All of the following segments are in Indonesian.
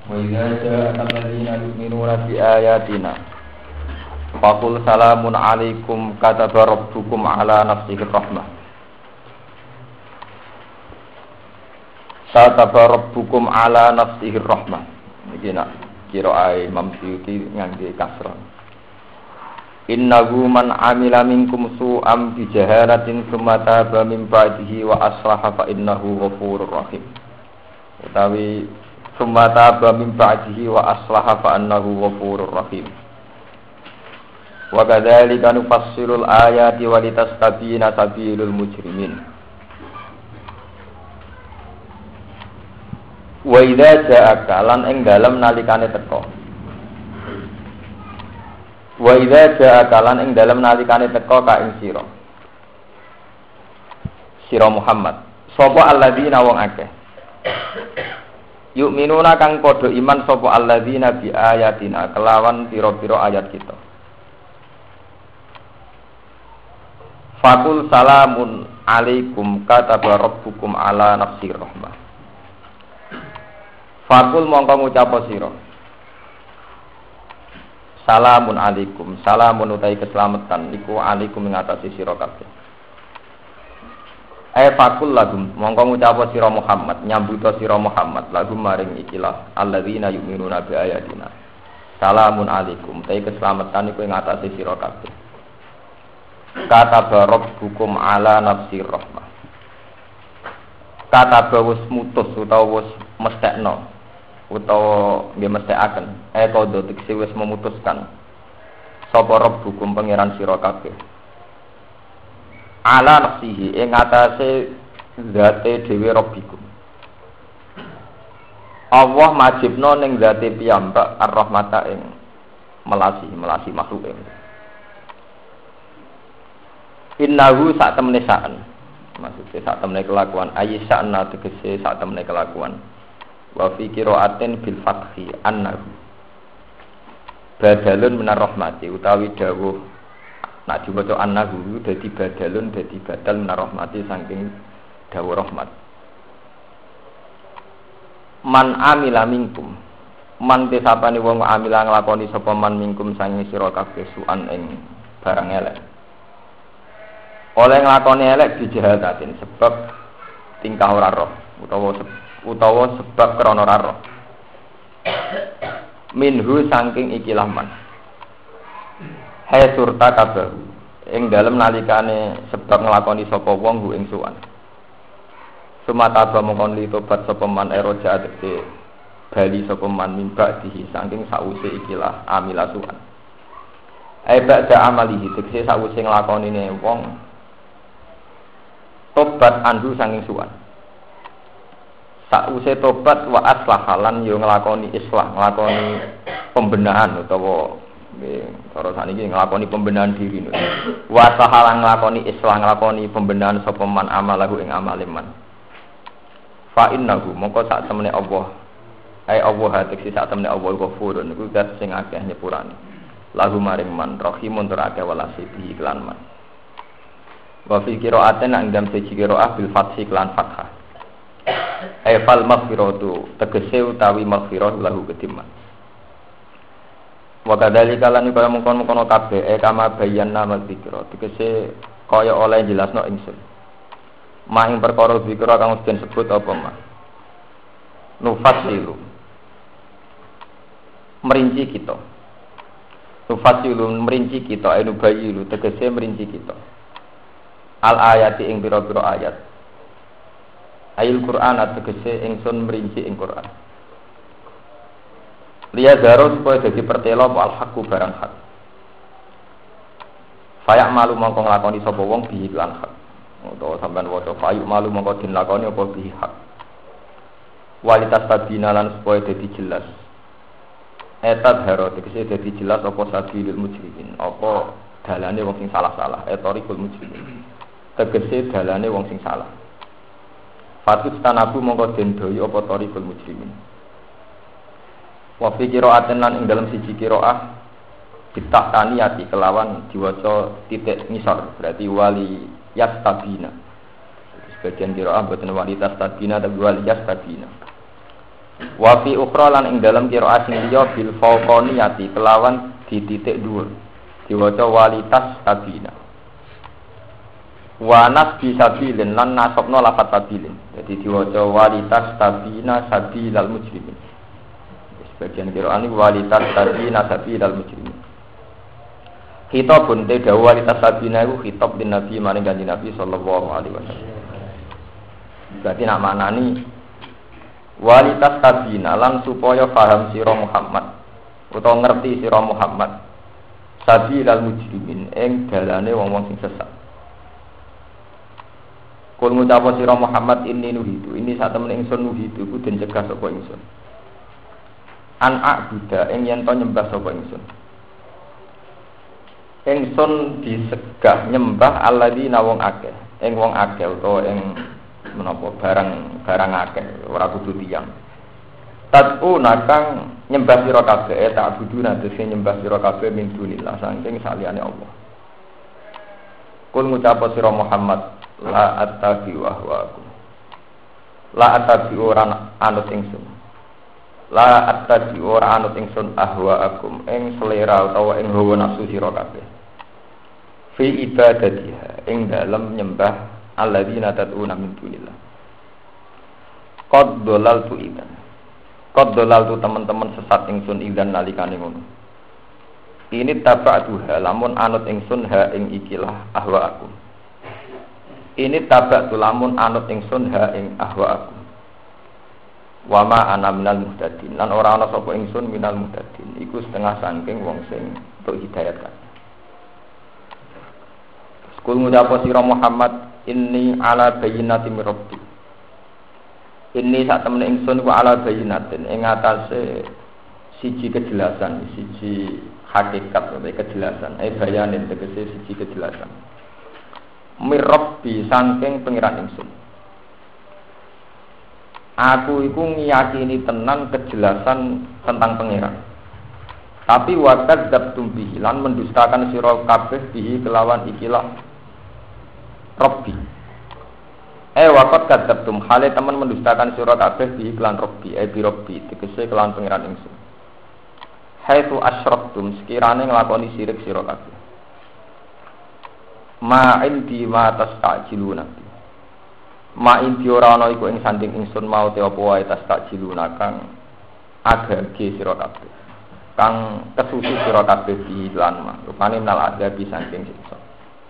وإذا جاءك الذين يؤمنون بآياتنا فقل سلام عليكم كتب ربكم على نفسه الرحمة كتب ربكم على نفسه الرحمة. Iki nak kira Imam Suyuti ngangge kasrah. Innahu man amila minkum su'am bi jahalatin tsumma taba min ba'dihi wa aslaha fa innahu ghafurur rahim. Utawi tsumma taba min ba'dihi wa aslaha fa innahu ghafurur rahim. Wa kadzalika nufassilul ayati wa litastabina sabilul mujrimin. Wa idza ja'aka lan ing dalem nalikane teka. Wa idza ja'aka lan ing dalem nalikane teka ka ing sira Muhammad. Sapa alladzina wong akeh. Yu'minuna kang padha iman sapa alladzina bi ayatina kelawan pira-pira ayat kita. Fakul salamun alaikum kataba rabbukum ala nafsir rahmah. Fakul mongko ngucap sira. Salamun alaikum, salamun utai keselamatan iku alaikum ing atase sira kabeh. Fakul lagum mongko ngucap sira Muhammad, nyambuta sira Muhammad lagum maring ikilah alladzina yu'minuna bi ayatina. Salamun alaikum, utai keselamatan iku ing atase sira kabeh. Kata rabbukum ala nafsir rahmah. Kata wis mutus utawa wis mesthekno utawa nggih mesthekaken kodo tekse wis memutuskan sapa rabbukum pangeran sira kabeh ala nafsihi ing atase zate dhewe rabbikum. Allah majibno ning zate piyambak ar-rahmata ing melasi makhluk ing innahu sak temene saan maksudé sak temene kelakuan ayyisana tegese sak temene kelakuan wa fi qira'atin bil fathi annahu badalun minar rahmati utawi dawuh nek diwaca annahu dadi badalun dadi badal minar rahmati saking dawuh rahmat. Man amila minkum man tesapane wong amila nglakoni sapa man minkum sange sira kabeh suan ing barang elek oleh nglakoni elek dijahatatin sebab tingkah ora roh utawa sebab krana ora roh minhu saking ikilah man hai surta kabeh ing dalem nalikane sebab nglakoni sapa wong hu ing suwan sumata mongkon li tobat sapa man eroja tegese bali sapa man mimba dihi saking sause ikilah amila suwan ai ba'da amalihi tegese sause nglakonine wong tobat andu saking suwan. Sause tobat wa aslahalan yo nglakoni islah, nglakoni pembenahan utawa nggih cara saniki nglakoni pembenahan diri. Wa aslahalan nglakoni islah, nglakoni pembenahan sapa man amalahu ing amale man. Fa innahu mongko sak temene Allah. Ai Allah tekse sak temene Allah ghafurun niku zat sing akeh nyepurane. Lahu maring man rahimun tur akeh welase bi iklan man. Wa fi qira'atin ang dalam siji qira'ah bil fathi lan fathah. Fal maghfiratu tegese utawi maghfirah lahu kediman. Wa kadzalika lan kaya mungkon-mungkon kabeh kama bayyana madzikra tegese kaya oleh jelasno ingsun. Mahing perkara zikra kang den sebut apa mah. Nufassilu merinci kita. Nufassilu merinci kita anu bayilu tegese merinci kita. Al ayati ing pira-pira ayat. Ayat Quran tegese ingsun merinci ing Quran. Liya zaro supaya dadi pertelo al haqqu barang hak. Fayak malu mongko nglakoni sapa wong bihi lan hak. Utawa sampean waca fayu malu mongko den lakoni apa bihi hak. Walitas tabina lan supaya dadi jelas. Etat haro tegese dadi jelas apa sabilul mujrimin, apa dalane wong sing salah-salah, etorikul mujrimin. Tegese dalane wong sing salah. Fatut tanabu mongko den doyo apa tarikul mujrimin. Wa fi qira'atin lan ing dalam siji qira'ah ditahtaniyati kelawan diwaca titik ngisor berarti wali yastabina. Sebagian qira'ah boten wali tastabina tapi wali yastabina. Wa fi ukhra lan ing dalam qiraat sing liya bil fawqaniyati kelawan di titik dhuwur. Diwaca walitas sabina. Wa nasbi sabilin lan nasabna lafat sabilin. Jadi diwaca walitas sabina sabilal mujrimin. Sebagian qiraat ini walitas sabina sabilal mujrimin. Khitabun te dawu walitas sabina iku khitab din Nabi maring kanjeng Nabi sallallahu alaihi wasallam. Berarti nak maknani walitas sabina lan supaya paham sira Muhammad utawa ngerti sira Muhammad sabilal mujrimin ing dalane wong-wong sing sesat. Kul ngucap sira Muhammad inni nuhidu, ini sak temen ingsun nuhidu ku den cegah sapa ingsun. An a'budu ing yen to nyembah sapa ingsun. Ingsun disegah nyembah alladzina wong akeh, ing wong akeh utawa ing menapa barang akeh ora kudu tiyang. Tad'u nakang nyembah sira kabeh ta'buduna dise nyembah sira kabeh min dunillah saking saliyane Allah. Kul ngucap sira Muhammad la attabi'u ahwaakum. La attabi'u ora anut ingsun. La attabi'u ora anut ingsun ahwaakum ing selera utawa ing hawa nafsu sira kabeh. Fi ibadatiha ing dalem nyembah alladzina tad'una min dunillah. Qad dhalaltu idzan. Qad dhalaltu teman-teman sesat ingsun idzan nalikane ngono. Ini taba'tuha lamun anut ingsun ha ing ikilah ahwaakum. Ini taba'tu lamun anut ingsun ha ing ahwaakum. Wa ma ana minal muhtadin lan ora ana sapa ingsun minal muhtadin iku setengah saking wong sing untuk hidayat kan. Kul ngucap sira Muhammad inni ala bayyinati mir rabbi. Inni sak temene ingsun ku ala bayyinatin ing atase siji kejelasan, siji hakikat utawa kejelasan. Bayanin tegese siji kejelasan. Mir rabbi saking pengiran ingsun. Aku iku ngiyakini tenan kejelasan tentang pengiran. Tapi wakad dabtum bihi lan mendustakan sira kabeh bihi kelawan ikilah Rabbi. Waqad kadzabtum hale teman mendustakan sira kabeh bi iklan Rabbi, bi Rabbi tegese kelan pangeran ingsun. Haitsu asyraktum sekirane nglakoni syirik sira kabeh. Ma indi ma tastajiluna. Ma indi ora ana iku ing sanding ingsun mau te apa wae tastajiluna kang agage sira kabeh. Kang kesusu sira kabeh bi lan ma. Rupane nal adabi saking siksa.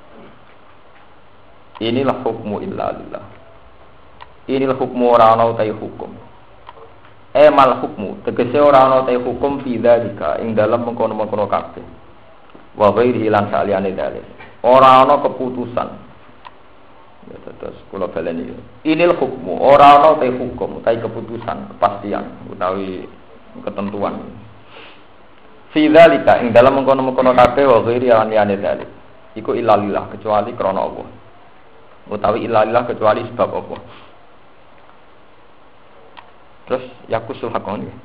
Inilah hukmu illa lillah. Inilah hukmu ora ana utai hukum. Mal hukmu tegese ora ana utai hukum bidzalika ing dalem mengkono-mengkono kabeh. Wa ghairi lan saliyane dalil. Ora ana keputusan. Ya terus kula baleni. Inilah hukmu ora ana utai hukum, utai keputusan, kepastian utawi ketentuan. Bidzalika ing dalem mengkono-mengkono kabeh wa ghairi lan liyane dalil. Iku illa lillah kecuali krana Allah. Utawi ilalillah kecuali sebab apa? Terus yakusul hakon ya.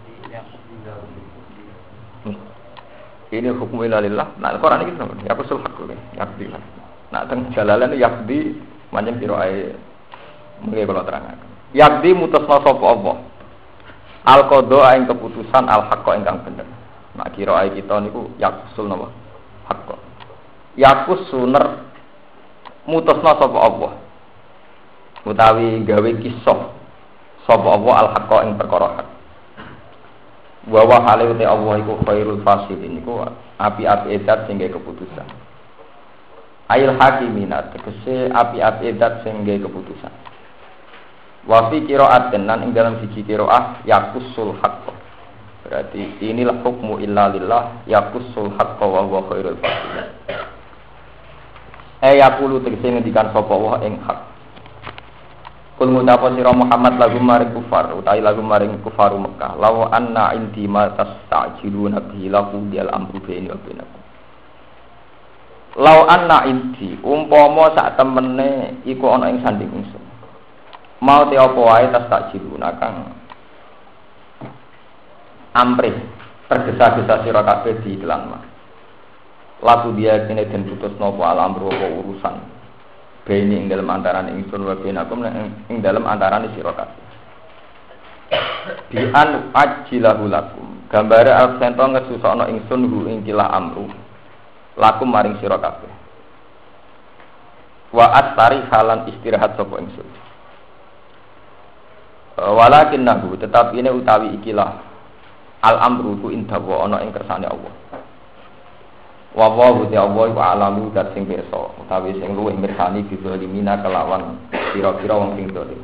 Ini hukum ilalillah. Nah, Quran iki sampe yakusul hakon ya. Yakdi. Nah, teng jalalan yakdi manjen piro ae mengke kula terangaken. Yakdi mutusna sapa Allah. Al qada ing keputusan al haqq ingkang bener. Nah, kira ae kita niku yakusul napa? Haqq. Yakus suner mutusna sapa Allah utawi gawe kisah sapa Allah al-haqqa ing perkara hak wa wa hale te Allah iku khairul fasilin iku api-api edat sing gawe keputusan ail hakimina tegese api-api edat sing gawe keputusan wa fi qira'at lan ing dalam siji qira'ah yaqusul haqqa berarti inilah hukmu illa lillah yaqusul haqqa wa huwa khairul fasilin yaqulu tegese ngendikan sapa wa ing hak. Kul ngucap sira Muhammad lagu maring kufar utawi lagu maring kufaru Mekah. Law anna indi ma tastajiluna bihi lahu dial amru baini wa bainakum. Law anna indi umpama sak temene iku ana ing sanding ingsun. Mau te apa wae tastajiluna kang amrih tergesa-gesa sira kabeh di iklan mah. Laku dia kene den putus napa alam apa urusan bene ing dalem antarané ingsun wa benakum ing dalem antarané sira kabeh bi an ajilahu lakum gambare absento ngesusokno ingsun hu ing kila amru lakum maring sira kabeh wa astari halan istirahat sapa ingsun walakinnahu tetapi ini utawi ikilah al amru ku indawa ana ing kersane Allah wa wa Allah wa alamu dat sing pirsa utawi sing luwih mirsani bizalimina kelawan kira-kira wong sing dolim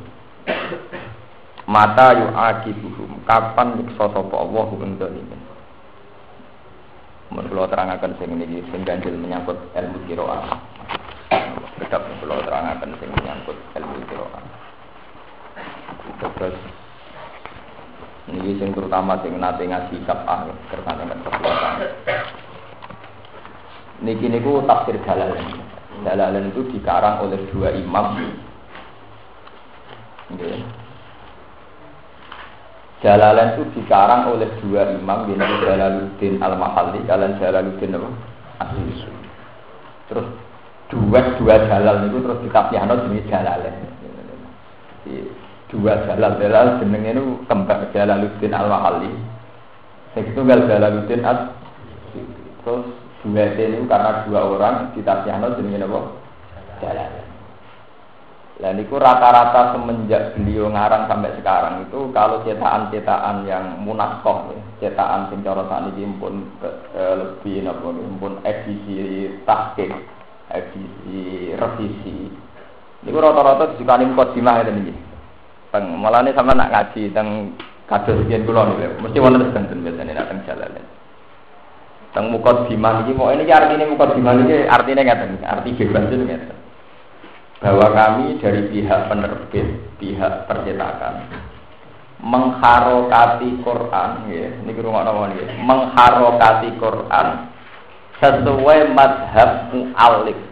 mata yu'aqibuhum kapan nyiksa sapa Allah ing dolimin mun kula terangaken sing niki sing ganjil menyangkut ilmu qiraah tetap kula terangaken sing menyangkut ilmu qiraah terus ini sing terutama sing nate ngaji kitab kersane kesepuluhan niki niku tafsir Jalalain itu dikarang oleh dua imam nggih Jalalain itu dikarang oleh dua imam yaitu Jalaluddin Al-Mahalli dan Jalaluddin As-Suyuti terus dua jalal itu terus ditafsirno jenenge Jalalain dua jalal jenenge niku kembang Jalaluddin Al-Mahalli sing tunggal Jalaluddin As-Suyuti terus dua itu karena dua orang ditafsirno jenenge napa Jalalain. Lah niku rata-rata semenjak beliau ngarang sampai sekarang itu kalau cetakan-cetakan yang munaskah cetakan sing cara sakniki pun lebih napa pun edisi tahqiq edisi revisi niku rata-rata disukani mukadimah ngeten iki. Malane sampeyan nak ngaji teng kados yen kula niku mesti wonten sedanten biasane nak teng Jalalain. Teng mukadimah iki mau ini artine mukadimah iki artine ngeten arti bebas itu ngeten. Bahwa kami dari pihak penerbit, pihak percetakan mengharokati Quran, ya, ini kurang nggih, mengharokati Quran sesuai mazhab mu'allif.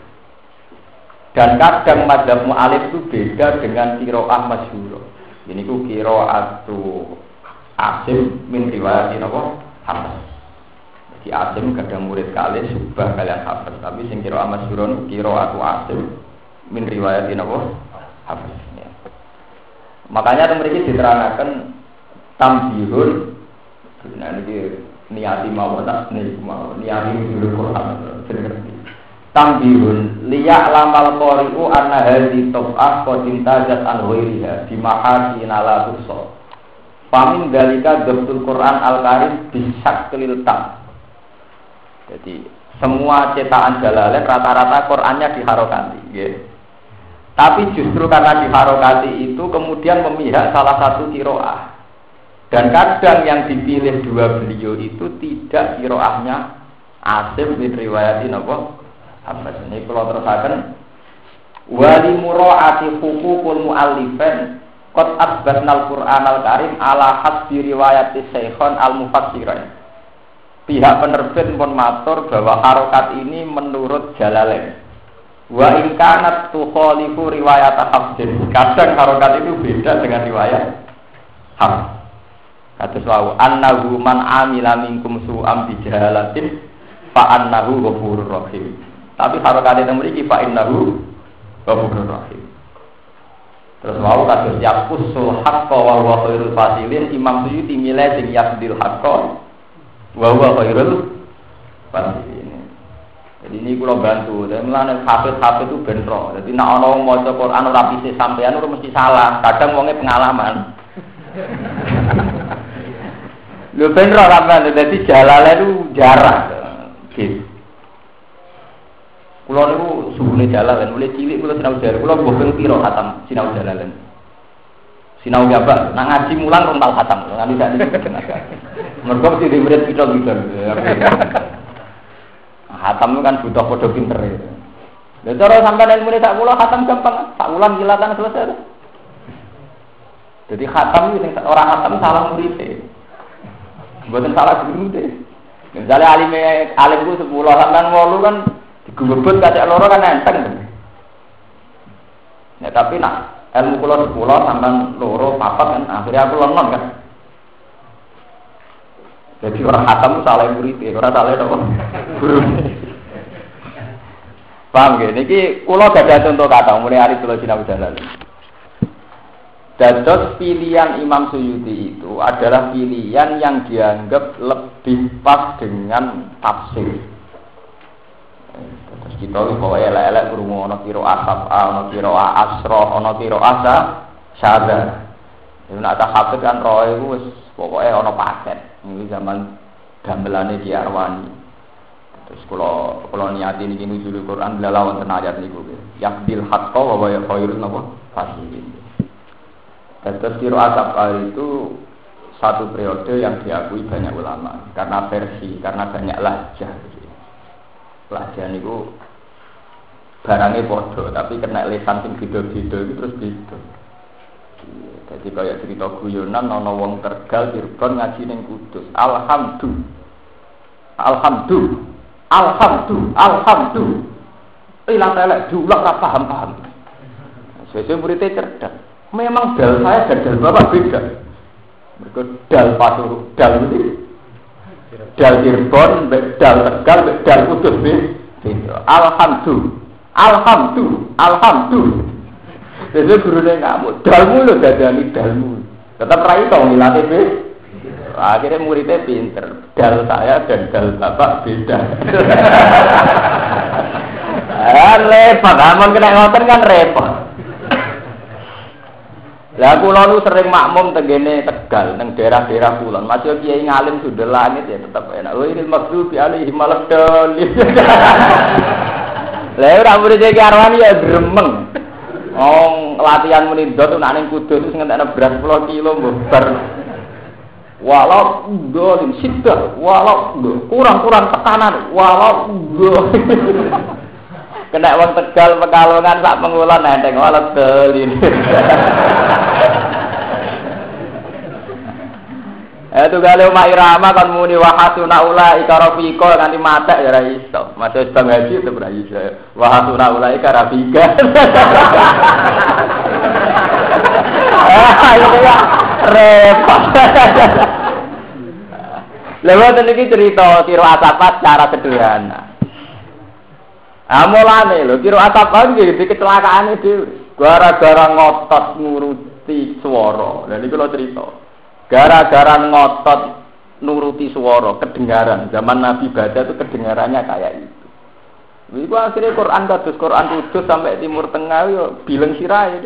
Dan kadang mazhab mu'allif itu beda dengan qiraah masyhur. Ini ku qiraatu Asim min riwayat napa? Hafiz. Jadi Asim kadang murid kali subah kalian Hafiz, tapi sing qiraah masyhur qiraatu Asim min riwayat napa Hafiz ya. Makanya memiliki diterangkan tambihun nah niki niati mawon tak niati nurul Quran tambihun liya lamal qari'u anna hadhi tab'ah qad intajat an ghairiha bi mahasin ala tusa famin dalika dabtul Quran al-karim bisaklil tam. Jadi semua cetakan Jalalain rata-rata Qurannya diharokati nggih. Tapi justru karena diharokati itu kemudian memihak salah satu qiraah. Dan kadang yang dipilih dua beliau itu tidak qiraahnya Asim bin riwayatin apa? Apa ini kalau terusakan wali muraati huququl muallifin qad asbatnal Qur'anal Karim ala hasbi riwayati Syekhon al-Mufassirin. Pihak penerbit pun matur bahwa harokat ini menurut Jalalain. Wa in kanat tukhalifu riwayat Hafsin. Kadang harokat itu beda dengan riwayat Hafs. Kados wau annahu man amila minkum su'am bi jahalatin fa annahu ghafurur rahim. Tapi harokat itu mriki fa innahu ghafurur rahim. Terus wau kados yaqusul haqqo wa huwa khairul fasilin Imam Suyuti milih sing yaqdil haqqo wa huwa khairul fasilin. Jadi ini kalau bantu, dan melane hafid itu benro. Jadi nak orang mau baca Quran ora pisih sampean ora mesti salah. Kadang wonge pengalaman. Lho benro sampean dadi Jalalain itu jarang. Gitu. Kulo niku suhune Jalalain, mulai cilik kulo sinau Jalalain. Kulo boten piro khatam sinau Jalalain. Sinau gabah, nang ngaji mulang rong khatam. Nganti sak niki. Mergo mesti dimurid pito-pito. Khatam itu kan butuh podo pinter ya. Lha cara sampeyan ilmune sak kula khatam gampang, sak wulan kilatan selesai. Jadi khatam itu sing ora khatam salah murid. Mboten salah guru deh. Misale alimku 10 sampean 8 kan digubebut kacek loro kan enteng. Ya tapi nak ilmu kula 10 sampean loro 4 kan akhirnya aku lenon kan. Jadi orang khatam salah murid, orang salah apa? Guru. Paham nggih? Niki kula gadah contoh kata mulai hari kula sinau Jalalain. Dados pilihan Imam Suyuti itu adalah pilihan yang dianggap lebih pas dengan tafsir. Terus kita bahwa elek-elek krungu ana kira asab, ana kira asra, ana kira asa, syadza. Yen nek hafid kan roh iku wis pokoke ana paket. Iki zaman gamelane Ki Arwani. Terus kula niati niki nuzul Quran lala wonten ayat niku. Yaqbil haqqo wa khairun napa fasihin. Terus qiraat Abqari itu satu periode yang diakui banyak ulama karena versi, karena banyak lahjah. Lahjah niku barangnya bodoh, tapi kena lesan sing beda-beda itu terus beda. Jadi kayak cerita guyonan ana wong Tegal Cirebon ngaji ning Kudus. Alhamdulillah. Ilang telek diulang ora paham. Sesuk muridé cerdas. Memang dal saya dan dal bapak beda. Mereka dal Pasuru, dal ini, dal Cirebon, dal Tegal, dal Kudus beda. Alhamdulillah. Jadi gurunya ngamuk. Dalmu lo dadani dalmu. Tetap rai tau ngilatih be. Akhirnya muridnya pinter. Dal saya dan dal bapak beda. Repot. Amun kena ngoten kan repot. Lah kula nu sering makmum tengene Tegal nang daerah-daerah kulon. Masih kiai ngalim sudah langit ya tetap enak. Oh ini maksud alaihi maladol. Lah ora murid Ki Arwani ya gremeng. Latihan muni ndot nek ning Kudus wis ngentekno beras 10 kilo mbar. Walau dolim sidah, walau kurang tekanan, walau kena wong Tegal Pekalongan sak pengulon enteng walet dolin. Itu gale Mak Irama kan muni wahasuna ula ikarafika nganti matek ya ra iso. Masih bang haji itu ora iso. Wahasuna ula ikarafika. Ayo ya repot. Lewat iki cerita kira asapat cara sederhana. Mulane lho kira asapat iki kecelakaane dhewe. Gara-gara ngotot nuruti swara. Lha niku lho cerita. Gara-gara ngotot nuruti suara, kedengaran. Zaman Nabi baca itu kedengarannya kayak itu. Itu akhirnya Quran kudus sampai Timur Tengah yo bileng sirai.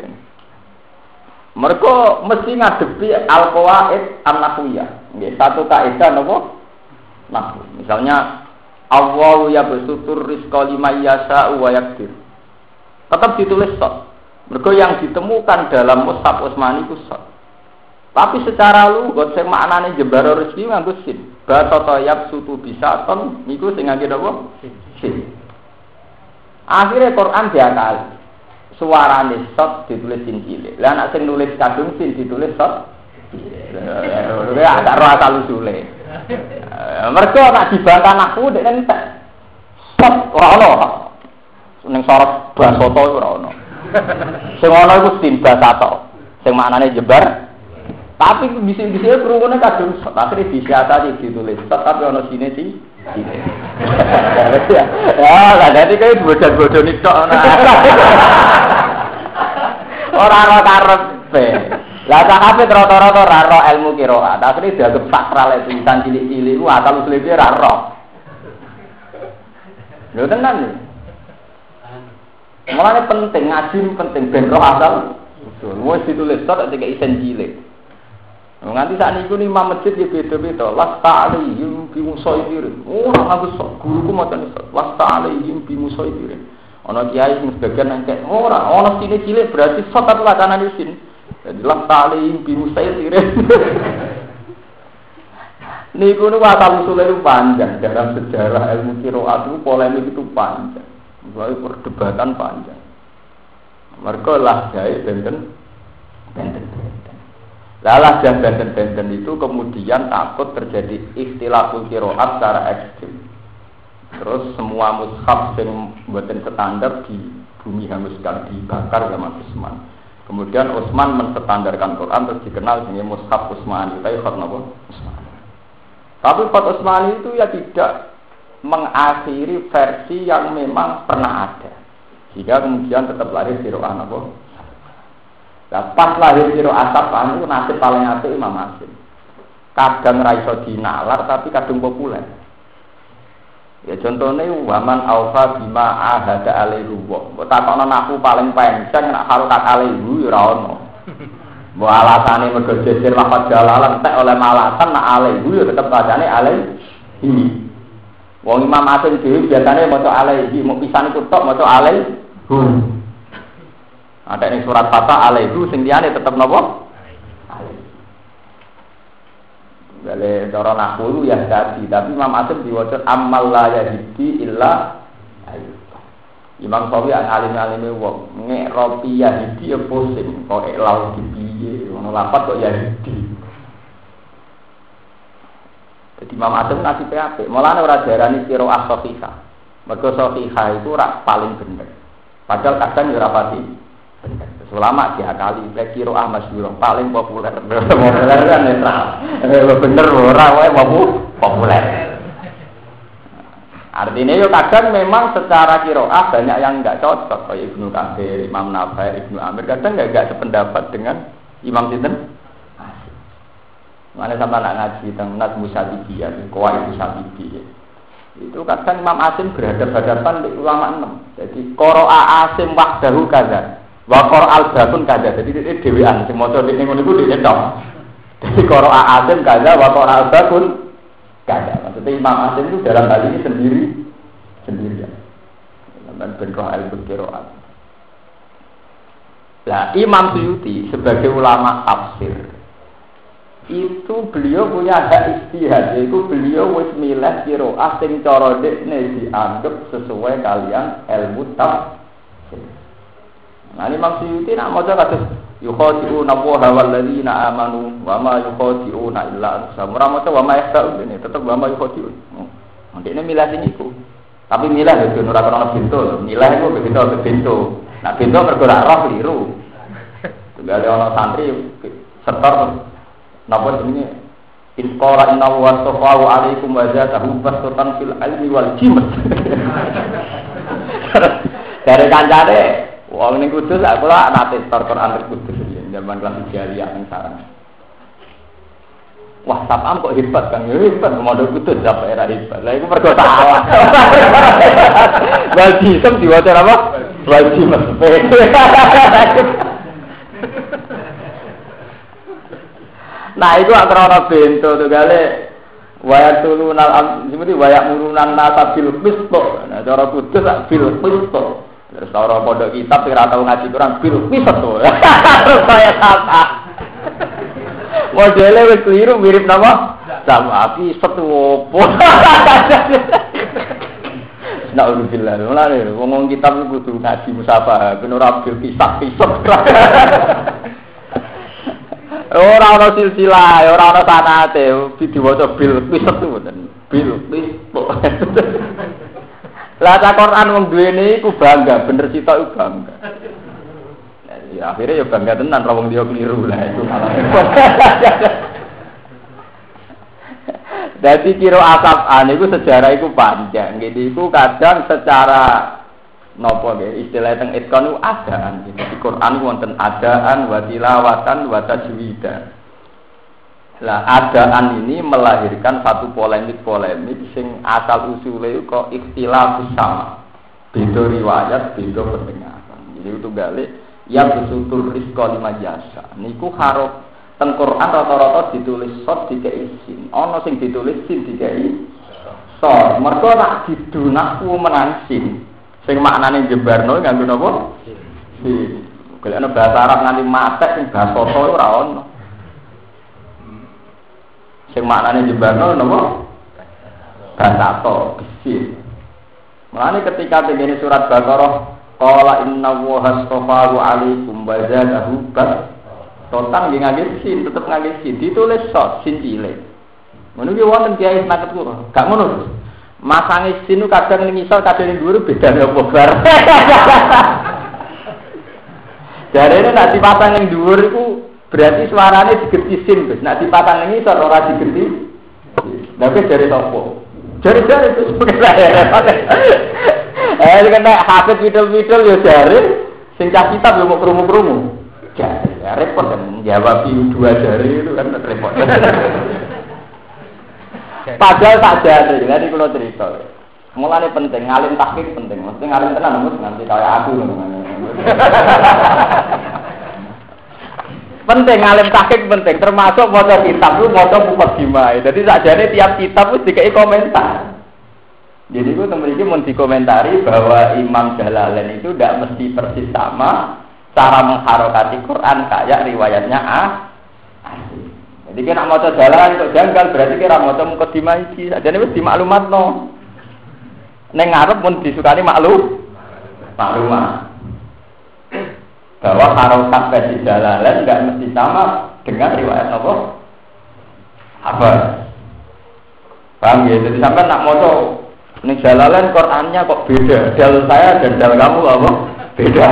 Mereka mesti ngadepi al-qawaid an-nahwiyah. Nggih, satu kaidah napa? Nahwu. Misalnya Allahu yabsutur rizqa liman yasha'u wa yaqdir. Tetap ditulis shad. Mergo yang ditemukan dalam mushaf Utsmani itu shad. Tapi secara lugat sing maknane jembara rezeki nganggo sin. Batata yabsutu bisaton niku sing ngangge napa? Sin. Akhire Quran diakali. Suarane shad ditulis sin cilik. Lah nek sing nulis kadung sin ditulis shad. Ya ada ro asal usule. Mergo nek dibantah nahwu nek entek. Shad ora ono. Ning sorot basoto ora ono. Sing ono iku sin basato. Sing maknane jembar. Tapi bisik-bisik kerungunan kadung akhirnya disiasati ditulis tapi ada sini sih ya lah jadi kayak bodoh-bodoh nih kok orang-orang karpe lah sahabat rata-rata raro ilmu kiroat akhirnya dianggap sakral itu tulisan cilik-cilik itu asal usulnya raro lho tenan nih makanya penting ngaji penting benro asal usul mau ditulis ketika isen cilik. Nganti saat ini imam masjid ya beda-beda. Lasta alaihim bimusaidirin. Orang aku sok guruku macam itu. Lasta alaihim bimusaidirin. Ono kiai sing sebagian nangkep ora. Ono sini cilik berarti sok tapi wacana di sini. Jadi lasta alaihim bimusaidirin. Niku niku asal usulnya itu panjang. Dalam sejarah ilmu qiraat itu polemik itu panjang. Mulai perdebatan panjang. Mereka lah jahit benten. Lalah dan benten-benten itu kemudian takut terjadi ikhtilaful qiraat secara ekstrim. Terus semua mushaf yang buatan standar di bumi hanguskan dibakar sama Utsman. Kemudian Utsman menstandarkan Quran terus dikenal dengan mushaf Utsmani. Tapi Fat Utsmani itu ya tidak mengakhiri versi yang memang pernah ada. Sehingga kemudian tetap lahir qiraat apa? Lah pas lahir kira asap anu nasib paling apik Imam Asim. Kadang ra iso dinalar tapi kadang populer. Ya contohnya waman aufa bima ahada alaihi wa. Kok takokno aku paling penceng nek karo kak alaihi ya ora ono. Mbok alasane mergo jejer lafaz jalalan tek oleh malatan nak alaihi ya tetep bacane alaihi. Wong Imam Asim dhewe biasane maca alaihi, mau pisan iku tok maca alaihi. Ada ning surat Fatah alaihi sing liyane tetep napa? Gale cara nahwu ya tadi, tapi Imam Asim diwaca amal la yahdi illa ayu. Imam Sawi an alim-alime wong ngek ropi yahdi ya pusing kok lau piye ngono lapat kok yahdi. Jadi Imam Asim nasibe apik, mulane ora diarani qiraah sahihah. Mergo sahihah itu ora paling bener. Padahal kadang ya ora pati bener. Ulama diakali qiraah masyhur paling populer. Populer kan netral. Bener ora wae populer. Artinya yo kadang memang secara qiraah banyak yang enggak cocok kayak Ibnu Katsir, Imam Nawawi, Ibnu Amir kadang enggak sependapat dengan Imam sinten. Mana sampai nak ngaji tentang Nas Musabidiyah, Qawaid Musabidiyah. Itu kadang Imam Asim berhadapan dengan ulama 6. Jadi qira'a Asim wahdahu kaza. Wa qira'al batun kaza. Jadi ini dhewean sing maca ning ngono iku dhewe tok. Jadi qira'a Asim kaza wa qira'al batun kaza. Maksudnya Imam Asim itu dalam hal ini sendirian. Dan benroh al-qira'at. Lah Imam Suyuti sebagai ulama tafsir itu beliau punya hak ijtihad, yaitu beliau wis milih qiraah sing cara dekne dianggap sesuai kalian ilmu tafsir. Nah Imam Suyuti nak maca kados yukhadi'una wa walladzina amanu wa ma yukhadi'una illa anfusahum. Ora maca wa ma yahda'un ini tetep wa ma yukhadi'un. Ndekne milih sing iku. Tapi milih yo ora kena bintu, milih iku begitu bintu. Nah bintu mergo ora roh keliru. Tunggale ana santri setor napa jenenge inqala inna wa safahu alaikum wa zatahu basutan fil ilmi wal jimat. Dari kancane wong ning Kudus aku kula nate tor Quran Kudus zaman kelas jariah ning sarang. Wah, sapam kok hebat kan? Hebat modal Kudus sampai era hebat. Lah iku mergo salah. Wal jimat diwaca apa? Wal jimat. Nah itu antara orang bento tuh gale wayak turunal seperti wayak murunan nasa bil pisto. Nah cara Kudus bil pisto. Terus orang pondok kitab kira tahu ngaji kurang bil pisto. Terus saya kata modelnya wis keliru mirip nama sama api setuopo. Nauzubillah. Mulane ngomong kitab kudu ngaji musafah ben ora bil pisah-pisah. Ora ana silsilah, ora ana sanate, diwaca bil piset mboten. Bil piset. Lah ta Quran wong duwene iku bangga, bener sitok iku bangga. Ya akhirnya ya bangga tenan ra wong dia keliru lah itu malah. Dadi kira asap iku sejarah iku panjang. Ngene iku kadang secara napa nggih istilah teng itqan adaan di Quran wonten adaan wa tilawatan wa tajwidan. Lah adaan ini melahirkan satu polemik sing asal usule kok ikhtilaf sama. Beda riwayat, beda pendengaran. Jadi itu gale yang besutul rizqa lima jasa. Niku haruf teng Quran rata-rata ditulis sod dikei sin. Ana sing ditulis sin dikei sod. Mergo nak didunakku menang sin. Sing maknane jebarno nganggo napa? Golekno bahasa Arab nganti matek sing basa ora ono. Sing maknane jebarno napa? Bahasa to, bisi. Mulane ketika tengene surat Baqarah qala inna Allaha astafahu 'alaikum wa zadahu bas. Totan nggih ngangge sin, tetep ngangge sin, ditulis sod sin cilik. Ngono ki wonten kiai snaket kula. Gak ngono. Masange sinu kadang ning isor kadang ning dhuwur bedane apa bar. Jarene nek dipasang ning dhuwur iku berarti suarane digeti sin, Gus. Nek dipasang ning isor ora digeti. Lah wis jare sapa? Jare-jare wis kena hafid widul-widul ya jare sing cah kitab yo mau krungu-krungu. Jare. Ya repot kan jawab dua jari itu kan repot. Padahal saja jadi kalau cerita. Mulane penting ngalim tahqiq penting. Mesti ngalim tenan nanti kayak aku penting ngalim tahqiq penting termasuk maca kitab lu maca mukadimah. Jadi sakjane tiap kitab wis dikai komentar. Jadi itu teman-teman mau dikomentari bahwa Imam Jalalain itu tidak mesti persis sama cara mengharokati Quran kayak riwayatnya Jadi kira mau Jalalain untuk janggal berarti kira mau mukadimah iki. Sakjane wis dimaklumatno. Neng ngarep pun disukani maklumah. Bahwa harokat versi Jalalain tidak mesti sama dengan riwayat apa? Paham ya? Jadi sampai nak moco ini Jalalain Qurannya kok beda. Dal saya dan dal kamu apa? Beda.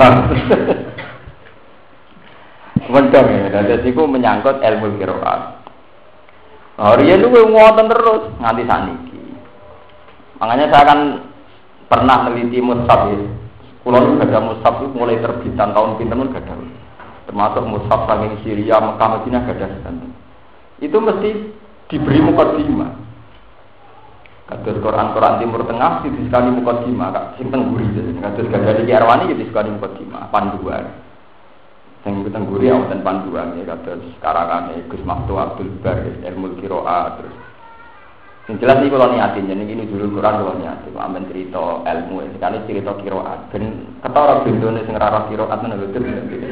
Benar ya. Jadi itu menyangkut ilmu qiraat. Riyen itu ngoten terus nganti saniki. Makanya saya akan pernah meneliti mushaf ya. Kulo nu gadah mushaf itu mulai terbitan tahun pinten mun gadah. Termasuk mushaf saking Syria, Mekah, Madinah gadah sedanten. Itu mesti diberi mukadimah. Kados Quran Timur Tengah disekali mukadimah, Kak, sing tengguri. Kados gadah iki Arwani disekali mukadimah, panduan. Sing tengguri wonten panduan ya kados karangane Gus Maftu Abdul Bar Ilmu Qiraat terus. Sing jelas iki kula niatin jeneng iki nuzul Quran kula niatin, amen cerita ilmu, sekali cerita qiraat. Ben ketara bendone sing ora qiraat ngono lho.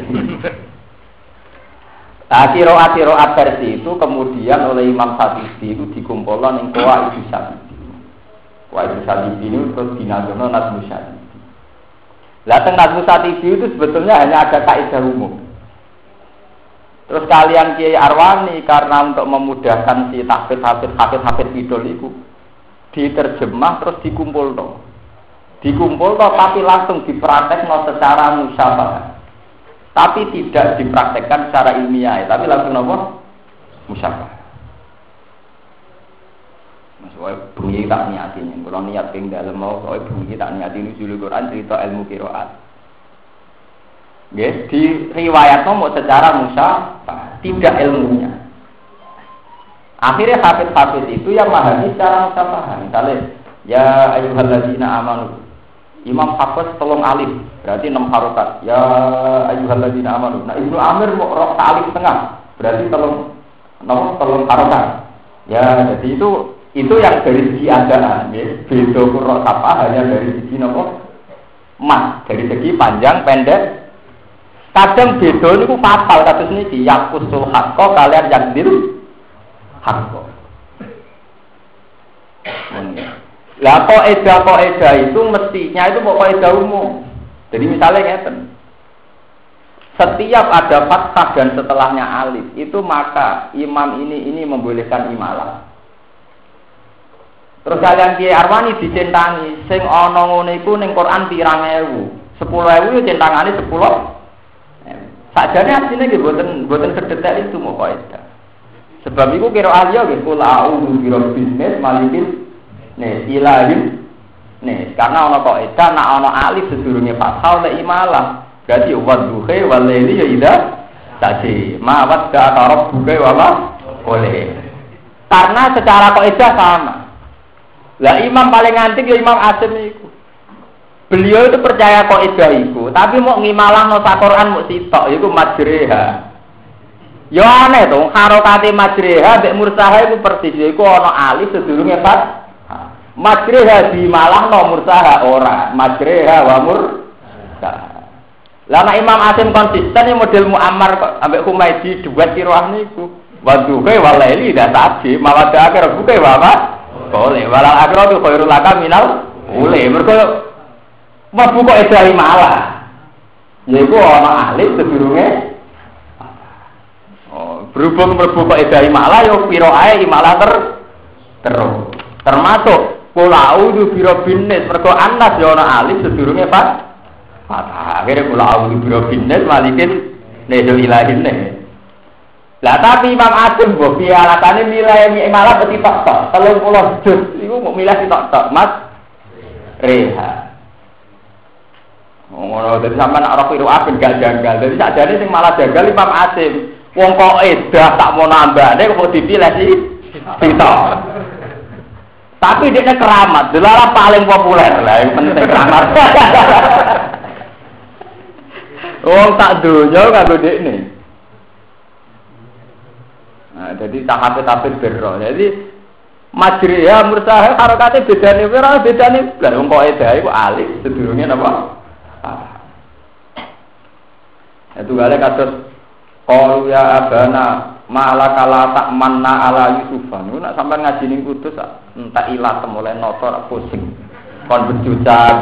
Qiraat versi itu kemudian oleh Imam Syafi'i itu dikumpulkan ning Qawaid Syafi'i. Qawaid Syafi'i itu terus dinazono Nazmu Syafi'i. Lah teng Nazmu Syafi'i itu sebetulnya hanya ada kaidah umum. Terus kalian Kiai Arwani karena untuk memudahkan si hafid idol itu diterjemah terus dikumpul tapi langsung dipraktekno secara musyawarah. Tapi tidak dipraktekkan secara ilmiah, tapi langsung apa? Musyawarah. Maksudnya bunyi tak niatin, kalau niat ping dalam mau soal bunyi tak niatin nuzul Quran cerita ilmu qiraat. Yes, di riwayat mau secara musyawarah, tidak ilmunya. Akhirnya hafid itu yang memahami secara musyawarah. Misalnya, ya ayyuhalladzina amanu. Imam Hafiz tolong alif, berarti 6 harokat. Ya ayyuhalladzina amanu. Nah, Ibnu Amir mau rok alif tengah, berarti tolong harokat. Ya, jadi itu yang dari segi adaan, ya. Beda qurra sapa hanya dari segi mas, dari segi panjang pendek. Kadang beda niku fatal kados niki yaqusul haqqo kalian yakdir haqqo. Lah kaidah itu mestinya itu kaidah umum. Jadi misalnya ngeten. Setiap ada fathah dan setelahnya alif, itu maka imam ini membolehkan imalah. Terus kalian Kiai Arwani dicentangi sing ana ngono iku ning Quran 3000. 10.000 yo centangane 10. Sajane asline nggih boten sedetail itu mau kaidah. Sebab iku kira ahli nggih kul a'udzu birabbin nas malikin nas ilahin nas karena ana kaidah nek ana alif sedurunge fathah oleh imalah. Berarti wadduhe walaili ya ida tadi mawat ka rabbuka wala boleh. Karena secara kaidah sama. Lah imam paling antik ya Imam Asim iku. Beliau itu percaya kaidah iku, tapi mau ngimalahno sak Quran mau sitok iku majreha. Ya aneh to, harokate majreha mek mursaha iku persis iku ana alif sedurunge fat. Majreha dimalahno mursaha ora, majreha wa mursaha. Lah nek Imam Asim konsisten ya model Muammar kok ambek Humaydi duet kiroah niku. Wadduhe walaili dah tadi, mawadha akhir buke apa? Boleh, walal akhiratu khairul laka minal ule. Mergo mlebu kok edahi malah. Yaiku ana alif sedurunge. Oh, berhubung mlebu kok edahi malah yo pira ae imalah terus. Termasuk kula a'udzu birabbin nas, mergo anas yo ana alif sedurunge fathah. Akhire kula a'udzu birabbin nas malikin nejo ilahin ne. Lah tapi Imam Asim mbok piye alatane milih malah peti tok-tok 30 juz iku mau milih tok-tok Mas Reha. Ngono dadi sampean nek ora piru aben gak janggal. Dadi sakjane sing malah janggal Imam Asim. Wong kok edah tak mau nambane kok dipilih sih. Kita. Tapi dia keramat, delala paling populer lah, yang penting keramat. Wong tak donya kanggo dekne. Nah, jadi tahap-tahap berro. Jadi majri ya mursaha harokate bedane ora bedane blas wong kok edah iku alif sedurunge napa? Itu gale kados qalu ya abana malakala tak manna ala Yusufan. Nek sampean ngaji ning Kudus entek ilat mulai notor pusing. Kon bejuca.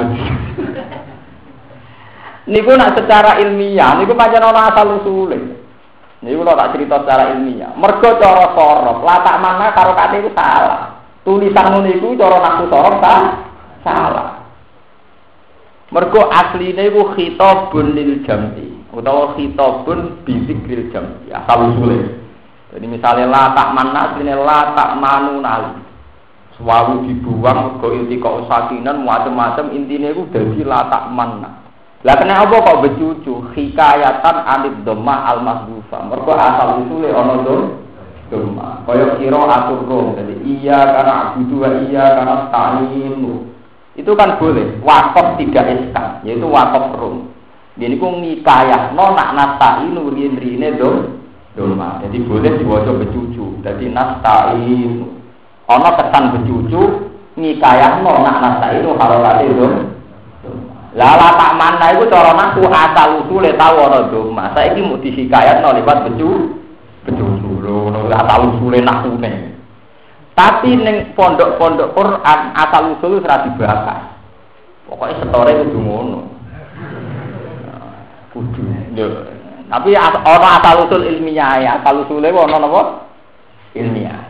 Niku nak secara ilmiah niku pancen ana asal usule. Niku lho tak cerita secara ilmiah. Mergo cara sorof, latak mana karo kate iku salah. Tulisan ngono iku cara nahwu sorof salah. Mergo asline iku khitabun lil jam'i utawa khitabun bi dzikril jam'i. Asal usule. Jadi misalnya latak mana asline latak manunal. Suwawu dibuang mergo iltika usakinan macam-macam intine iku dadi latak mana. Lah kena apa kok becucu hikayatan anid dhamma al-mahdzufah. Mergo asal usule ana dhamma. Kaya kira atur rom. Jadi iya karena abudu wa iya karena ta'inu. Itu kan boleh. Waqaf tidak iskan, yaitu waqaf rom. Dene ku ngikayahno nak nasta'inu rin-rine dhamma. Jadi boleh diwaca becucu. Jadi nasta'inu. Ana kesan becucu ngikayahno nak nasta'inu harokate dhamma. Lala tak mana itu cara nahwu asal usule tau ana dhamma. Saiki mung dihikayatno liwat becucu lho, asal usule nahwune. Tapi ning pondok-pondok Quran asal usul ora dibahas. Pokoke setore kudu ngono. Kudu. Lho. Tapi ana asal usul ilmiah ya, asal usule ana napa? Ilmiah.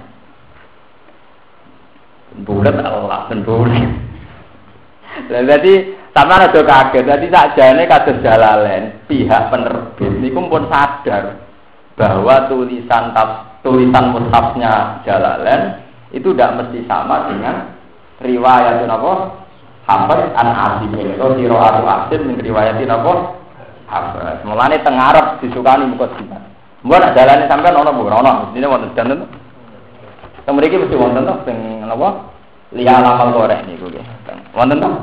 Bulat Allah ben bulat. Jadi sama ada kaget, jadi sakjane kados Jalalain pihak penerbit niku pun sadar bahwa tulisan mushafnya Jalalain itu tidak mesti sama dengan riwayat apa Hafiz an Asim atau qiraatu Asim min riwayatin apa Hafiz. Mulane teng Arab disukani mukadimah. Mbok nek Jalalain sampean ana Bu, ana mestine wonten danten. Teng mriki mesti wonten to sing napa liya lamal korek niku nggih. Wonten to?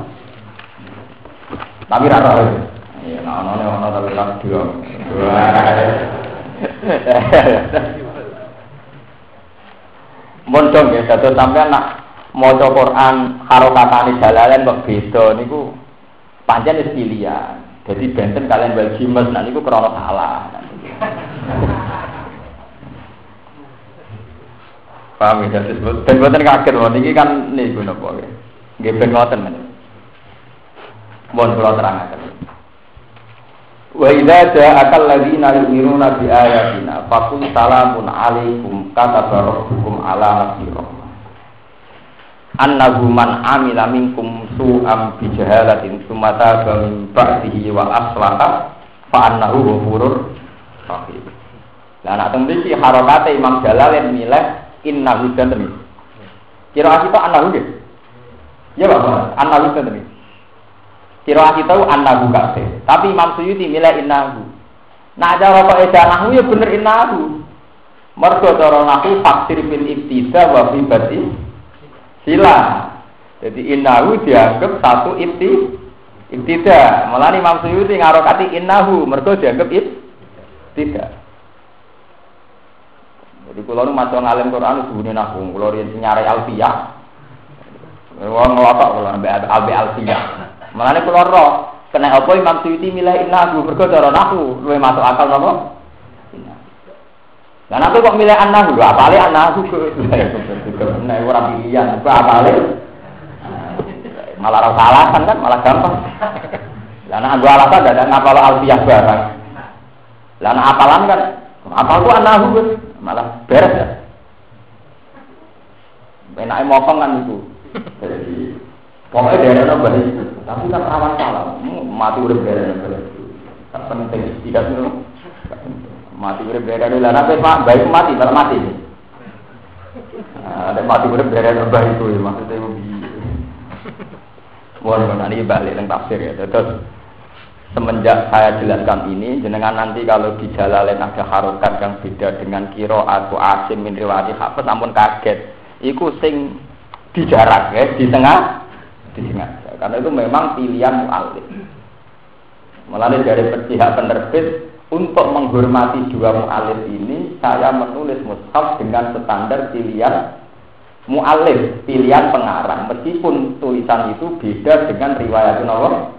Tapi rara ya, ana tapi tak dua. Mondong ya, dados sampean nak maca Quran harokatane Jalalain kok beda niku pancen wis pilihan. Dadi benten kalian wal jimas nah niku krana salah. Paham ya, disebut ben boten kaget lho niki kan niku napa nggih. Nggih ben ngoten men. Mohon kula terangaken. Wa idza ja'akal ladzina yu'minuna bi ayatina faqul salamun 'alaikum kataba rabbukum 'ala nafsihi rahmah. Annahu man 'amila minkum su'an bi jahalatin tsumma taba min ba'dihi wa aslaha fa annahu ghafurur rahim. Lah nek teng mriki harokate Imam Jalalain milih innahu dan kira kita annahu nggih. Ya Pak, annahu dan kira kita annahu kabeh. Tapi Imam Suyuti milih innahu. Nah cara kok edah nahwu ya bener innahu. Mergo cara nahwu faksir bil ibtida wa fi bati sila. Jadi innahu dianggap satu ibtida. Malah Imam Suyuti ngarokati innahu mergo dianggap ibtida. Jadi kula nu maca ngalim Quran sebune nahwu, kula riyen nyare alfiyah. Wong ngotak kula ambek alfiyah. Malane kula ro, kena apa Imam Suyuti milih innahu mergo cara nahwu luwih masuk akal napa? Lah nek kok milih annahu, lho apale annahu kok. Nek ora pilihan, kok apale? Malah ora salah kan malah gampang. Lah nek anggo alasan dadak ngapal alfiyah barang. Lah nek apalan kan apal ku annahu malah beres ya. Enake mokong kan itu. Jadi pokoknya daerah nambah itu, tapi kan rawan salah. Mati udah daerah nambah itu, tak penting. Tidak dulu, mati udah daerah dulu. Nanti pak baik mati, malah mati. Ada mati udah daerah nambah itu, maksudnya begini. Mohon nanti balik yang tafsir ya. Terus semenjak saya jelaskan ini, jenengan nanti kalau di Jalalain ada harokat yang beda dengan kiro atau asim min riwayat Hafiz, ampun kaget. Iku sing dijarak ya, di tengah. Karena itu memang pilihan mu'alif. Melalui dari pihak penerbit untuk menghormati dua mu'alif ini, saya menulis mushaf dengan standar pilihan mu'alif, pilihan pengarang. Meskipun tulisan itu beda dengan riwayat Allah.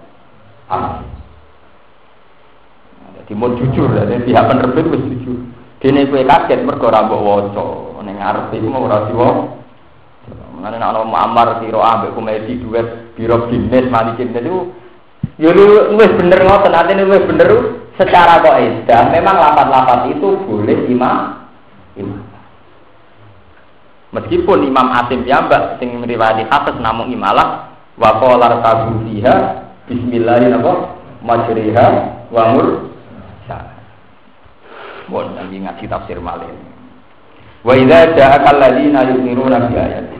Jadi mau jujur, jadi pihak penerbit harus jujur. Dene kowe kaget mergo ora mbok waca, ning ngarep iku mau ora diwo. Menane nek ana Muammar sira ambek komedi duet biro bisnis malikin itu ya wis bener ngoten, artine wis bener secara kaidah. Memang lapat-lapat itu boleh imam. Meskipun Imam Asim piyambak sing riwayat Hafiz namung imalah wa qala tabuhiha bismillahirrahmanirrahim wa mursa. Bon lagi ngaji tafsir malih. Wa idza ja'aka alladziina yu'minuuna bi ayatina.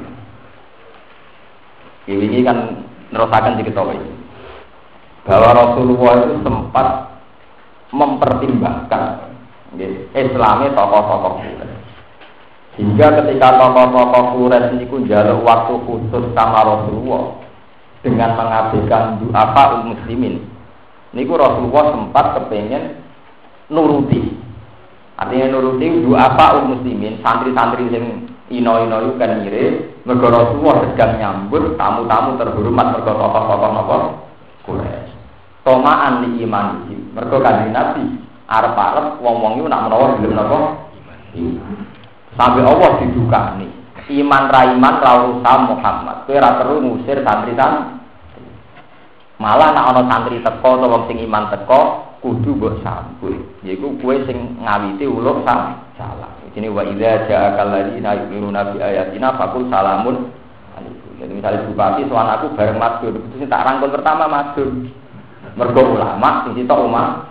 Ini kan nerusakan diketahui bahwa Rasulullah itu sempat mempertimbangkan Islamnya tokoh-tokoh Quraisy. Hingga ketika tokoh-tokoh Quraisy ini njaluk waktu khusus sama Rasulullah dengan mengabaikan du'afa muslimin. Niku Rasulullah sempat kepengen nuruti. Artinya nuruti du'afa muslimin, santri-santri yang ino-ino itu kan mirip. Mergo Rasulullah sedang nyambut tamu-tamu terhormat mergo tokoh-tokoh Quraisy. Tomaan li iman iki. Mergo Kanjeng Nabi arep-arep wong-wong iku nak menawa gelem napa? Sampai Allah didukani. Iman ra iman ra urusan Muhammad. Kowe ora perlu ngusir santri-santri. Malah nek ana santri teko utawa wong sing iman teko kudu mbok sambut. Yaiku kowe sing ngawiti uluk salah. Ini wa idza ja'akal ladzina yu'minuna bi ayatina faqul salamun alaikum. Jadi misalnya bupati sowan aku bareng matur, itu sing tak rangkul pertama matur. Mergo ulama sing sitok umat.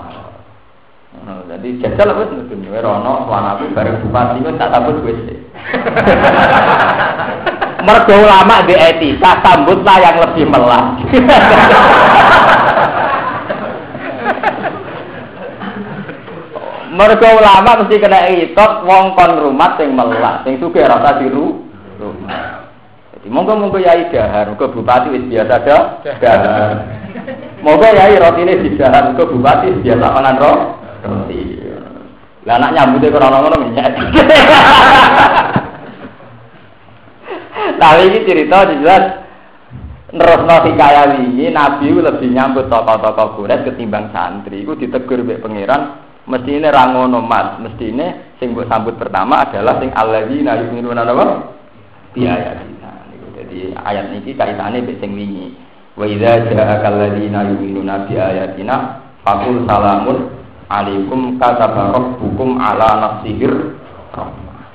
Jadi jajal wis mudun wae rono sowan aku bareng bupati wis tak sambut wis. Mergo ulama di etika sambutlah yang lebih melas. Mergo ulama mesti kena itot wong kon rumah sing melas, sing sugih rasa diru. Jadi monggo yai dahar, muga bupati wis biasa dahar. Monggo yai rotine didahar, muga bupati biasa mangan roti. Lah anak nyambute ora ngono menyek. Tapi iki cerita jelas nerusno hikayat wingi Nabi lebih nyambut tokoh-tokoh Quraisy ketimbang santri. Iku ditegur mbek pangeran. Mestine ra ngono Mas, mestine sing mbok sambut pertama adalah sing alladzina yu'minuna bi ayatina. Jadi ayat niki kaitane mbek sing wingi. Wa idza ja'akal ladzina yu'minuna bi ayatina faqul salamun alaikum kataba rabbukum ala nafsihir rahmah.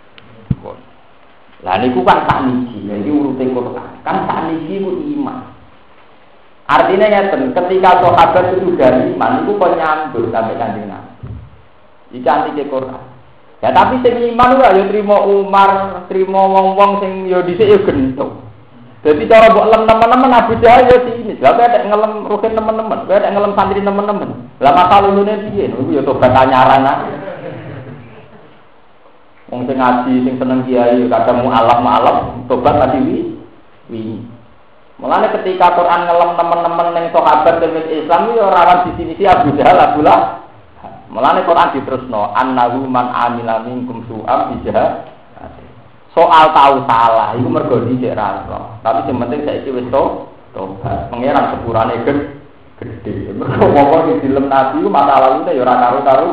Lah niku kan sakniki, iki urute Quran. Kan sakniki ku iman. Artinya ya ketika sahabat itu sudah iman, itu kok nyambut sampai Kanjeng Nabi. Iki antike Quran. Ya tapi sing iman ora ya trimo Umar, trimo wong-wong sing ya dhisik ya gentuk. Dadi cara mbok lem teman-teman Abu Jahal ya sini. Lah kok ada ngelem rugen teman-teman, kok ada ngelem santri teman-teman. Lah masalah lulune piye? Niku ya tobat anyaran ae. Wong sing ngaji sing seneng kiai kadang mualaf tobat tadi wi. Mulane ketika Quran ngelem teman-teman yang sahabat dan Islam itu rawan definisi Abu Jahal Abdullah. Mulane Quran diterusno annahu man amila minkum su'am bijah. Soal tahu salah itu mergo dhisik ra. Tapi sing penting saiki wis tobat. Pangeran sepurane gede. Mergo wong dilem Nabi ku masa lalune ya ora karo-karo.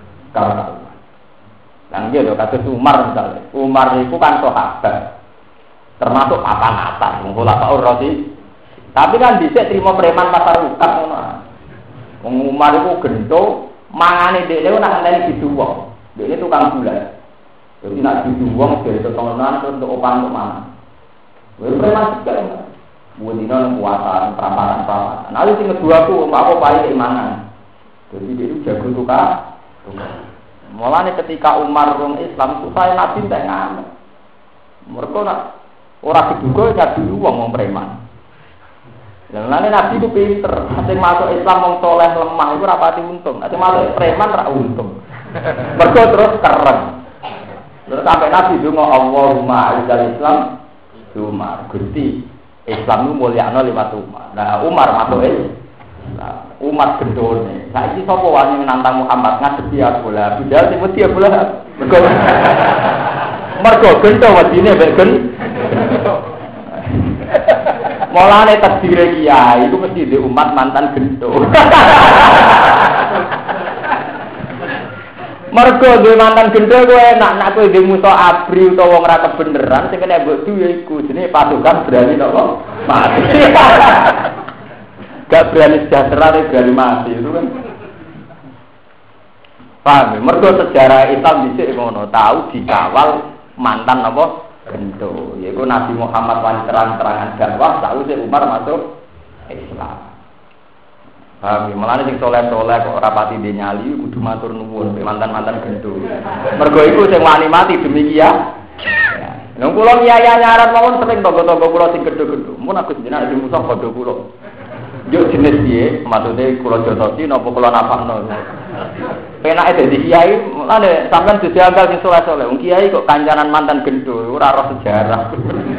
Lah nggih lho kados Umar misalnya. Umar itu kan sahabat. Termasuk papan atas, mengulak Pak Urrosi. Tapi kan dhisik trimo preman pasar ukat ngono. Wong Umar iku gento, mangane dhekne nak ngenteni diduwong. Dhekne tukang gula. Jadi nak diduwong dari totonan terus untuk opang untuk mana. Wis preman sekali. Buat dino puasa, peramparan. Nah, sing kedua ku apa paling keimanan. Jadi dia itu jago tukang. Mulane ketika Umar rong Islam, supaya Nabi tak ngamen. Mereka nak orang diduga ya dulu wong preman. Lan Nabi ku pinter, sing masuk Islam wong saleh lemah iku ora pati untung. Sing masuk preman ra untung. Mergo terus kereng. Terus sampai Nabi donga Allahumma a'izal Islam Umar. Gusti, Islam ku mulyakno liwat Umar. Nah, Umar masuk Islam. Umar gendone. Saiki sapa wani menantang Muhammad ngadepi aku lah. Bidal sing mesti aku lah. Mergo gendo wadine mek gendo. Mulane tadbire kiai iku mesti di umat mantan gento. Mergo duwe mantan gento kowe enak nek kowe duwe musuh abri utawa wong ora kebeneran sing kena mbok duwe iku jenenge pasukan berani napa? Mati. Gak berani sejahtera berani mati itu kan. Paham? Mergo sejarah Islam dhisik ngono, tahu dikawal mantan apa? Gento, yaitu Nabi Muhammad wani terang-terangan dakwah, tahu si Umar masuk Islam. Paham? Malah sing soleh-soleh kok rapati dia nyali, kudu matur nuwun mantan-mantan gento. Mergo iku sing wani mati demikian. Nang kula nyaya nyarat mawon sering tangga-tangga kula sing gendo-gendo. Mun aku jenengan di musuh padha kula. Yo jenis piye? Maksude kula jotosi napa kula napakno. Penake dadi kiai, mulane sampean dianggal sing soleh-soleh. Wong kiai kok kancanan mantan gendo, ora roh sejarah.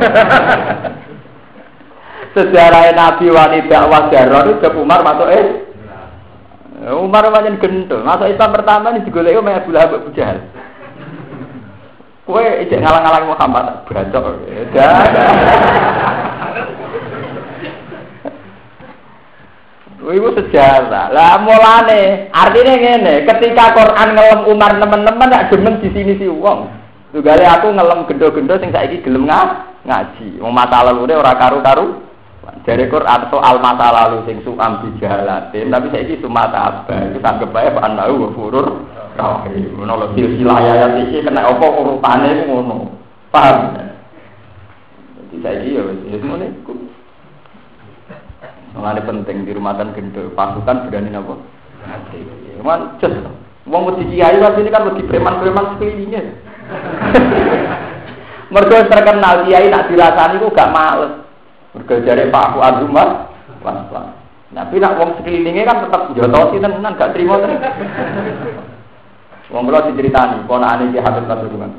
Sejarah Nabi wani dakwah jaror itu Umar masuk Umar pancen gendo. Masuk Islam pertama ini digoleki Umar Abu Lahab Abu Jahal. Kowe ijek ngalang-alang Muhammad bacok. Iku sejarah. Lah mulane artine ngene, ketika Quran ngelem Umar nemen-nemen nek demen di sini si wong. Tugale aku ngelem gendo-gendo sing saiki gelem ngaji. Wong masa lalune ora karu-karu. Jare Quran soal masa lalu sing suam dijalatin, tapi saiki sumata apa? Itu anggap bae panau furur. Ngono lho silsilah ayat iki kena apa urutane ngono. Paham? Jadi saiki ya wis ngene iku. Mulane penting di rumah kan gendo, pasukan berani napa? Mati. Cuman just wong wedi kiai wae ini kan wedi preman-preman sekelilingnya. Mergo terkenal kiai nak dirasani kok gak males. Mergo jare Pak Fuad Umar, was-was. Tapi nak wong sekelilingnya kan tetap jotosi tenan gak trimo tenan. Wong kula diceritani, ponakane Ki Habib Pasuruan.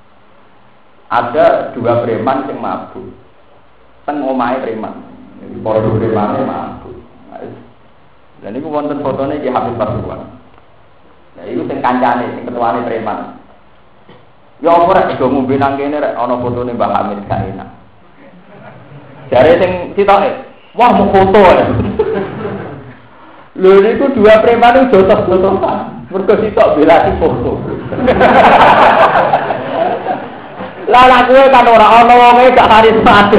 Ada dua preman sing mabuk. Teng omahe preman. Para premane mabuk. Dan iku wonten fotone Ki Habib Pasuruan. Nah iku sing kancane, sing ketuane preman. Ya ora do ngombe nang kene rek ana fotone Mbah Hamid gak enak. Jare sing sitoke, wah mau foto ya. Lho niku dua preman itu jotos-jotosan. Mergo sitok bela si foto. Lah kowe kan ora ana wonge gak karismatik.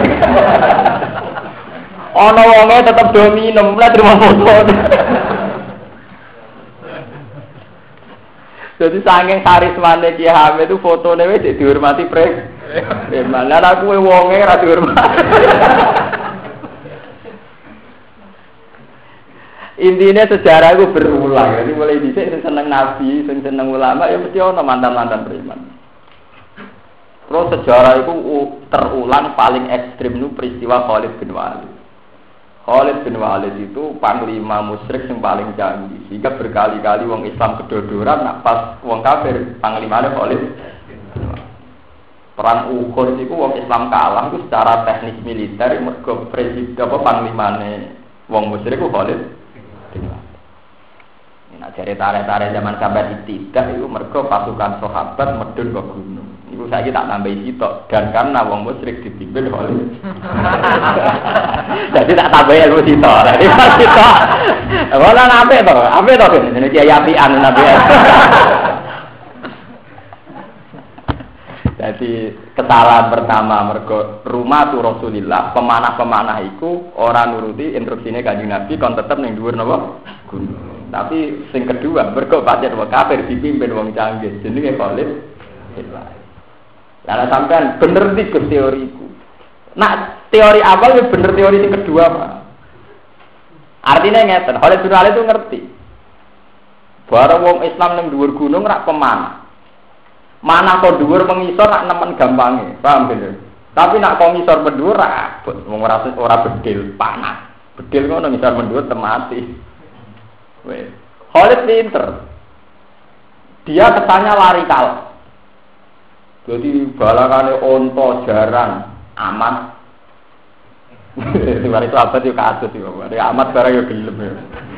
Ana wonge tetep do minum, lah terima foto. Jadi saking karismane Ki Hamid itu fotone wis dihormati preman. Lah aku wonge ora dihormati. Intinya sejarah itu berulang. Jadi mulai dhisik sing seneng nabi, sing seneng ulama ya mesti ana mantan-mantan preman. Terus sejarah itu terulang paling ekstrim itu peristiwa Khalid bin Walid. Khalid bin Walid itu panglima musyrik yang paling canggih. Sehingga berkali-kali wong Islam kedodoran, nak pas wong kafir panglimane Khalid. Perang Uhud itu wong Islam kalah itu secara teknis militer, mergo presiden apa panglimane wong musyrik itu Khalid. Nah, jare tarik-tarik zaman sahabat tidak itu mergo pasukan sahabat medun ke gunung. Iku saiki tak tambahi sitok dan karena wong musyrik dipimpin oleh. Jadi tak tambahi ilmu sitok. Jadi sitok. Ora apik to jenenge kiai apian nabi. Jadi kesalahan pertama mergo rumah tu Rasulillah, pemanah-pemanah iku ora nuruti instruksine Kanjeng Nabi kon tetep ning dhuwur napa gunung. Tapi sing kedua mergo pancen wong kafir dipimpin wong canggih jenenge Khalid. Lah sampean bener iki teoriku. Nak teori awal ya bener, teori yang kedua Pak. Artinya ngeten, Khalid bin Walid itu ngerti. Barang wong Islam ning dhuwur gunung rak pemanah. Mana kok dhuwur mengisor nak nemen gampange, paham bener. Tapi nak kok ngisor berdua wong ora bedil panas. Bedil ngono misal mendhuwur temati. Wes. Khalid pinter. Dia kesannya lari kalah. Jadi balangane onto jarang amat. Mari itu apa sih kasus sih, Pak. Amat barang yo gelem ya.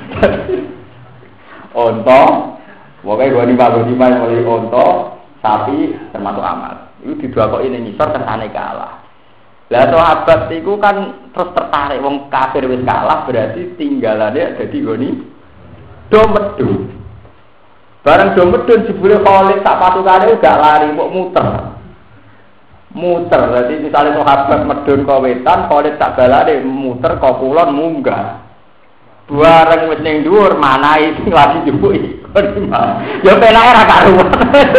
Onto, pokoknya gua di mulai onto, sapi termasuk amat. Itu didua kok ini ngisor kesane kalah. Lah sahabat itu kan terus tertarik wong kafir wis kalah berarti tinggalannya jadi goni domedun. Barang domedun jebule Khalid sak patukane gak lari kok muter. Jadi misalnya sahabat medun ke wetan, Khalid tak balane muter ke kulon munggah. Bareng wis ning dhuwur manahi sing lagi jupuki. Ya penake ra karuan.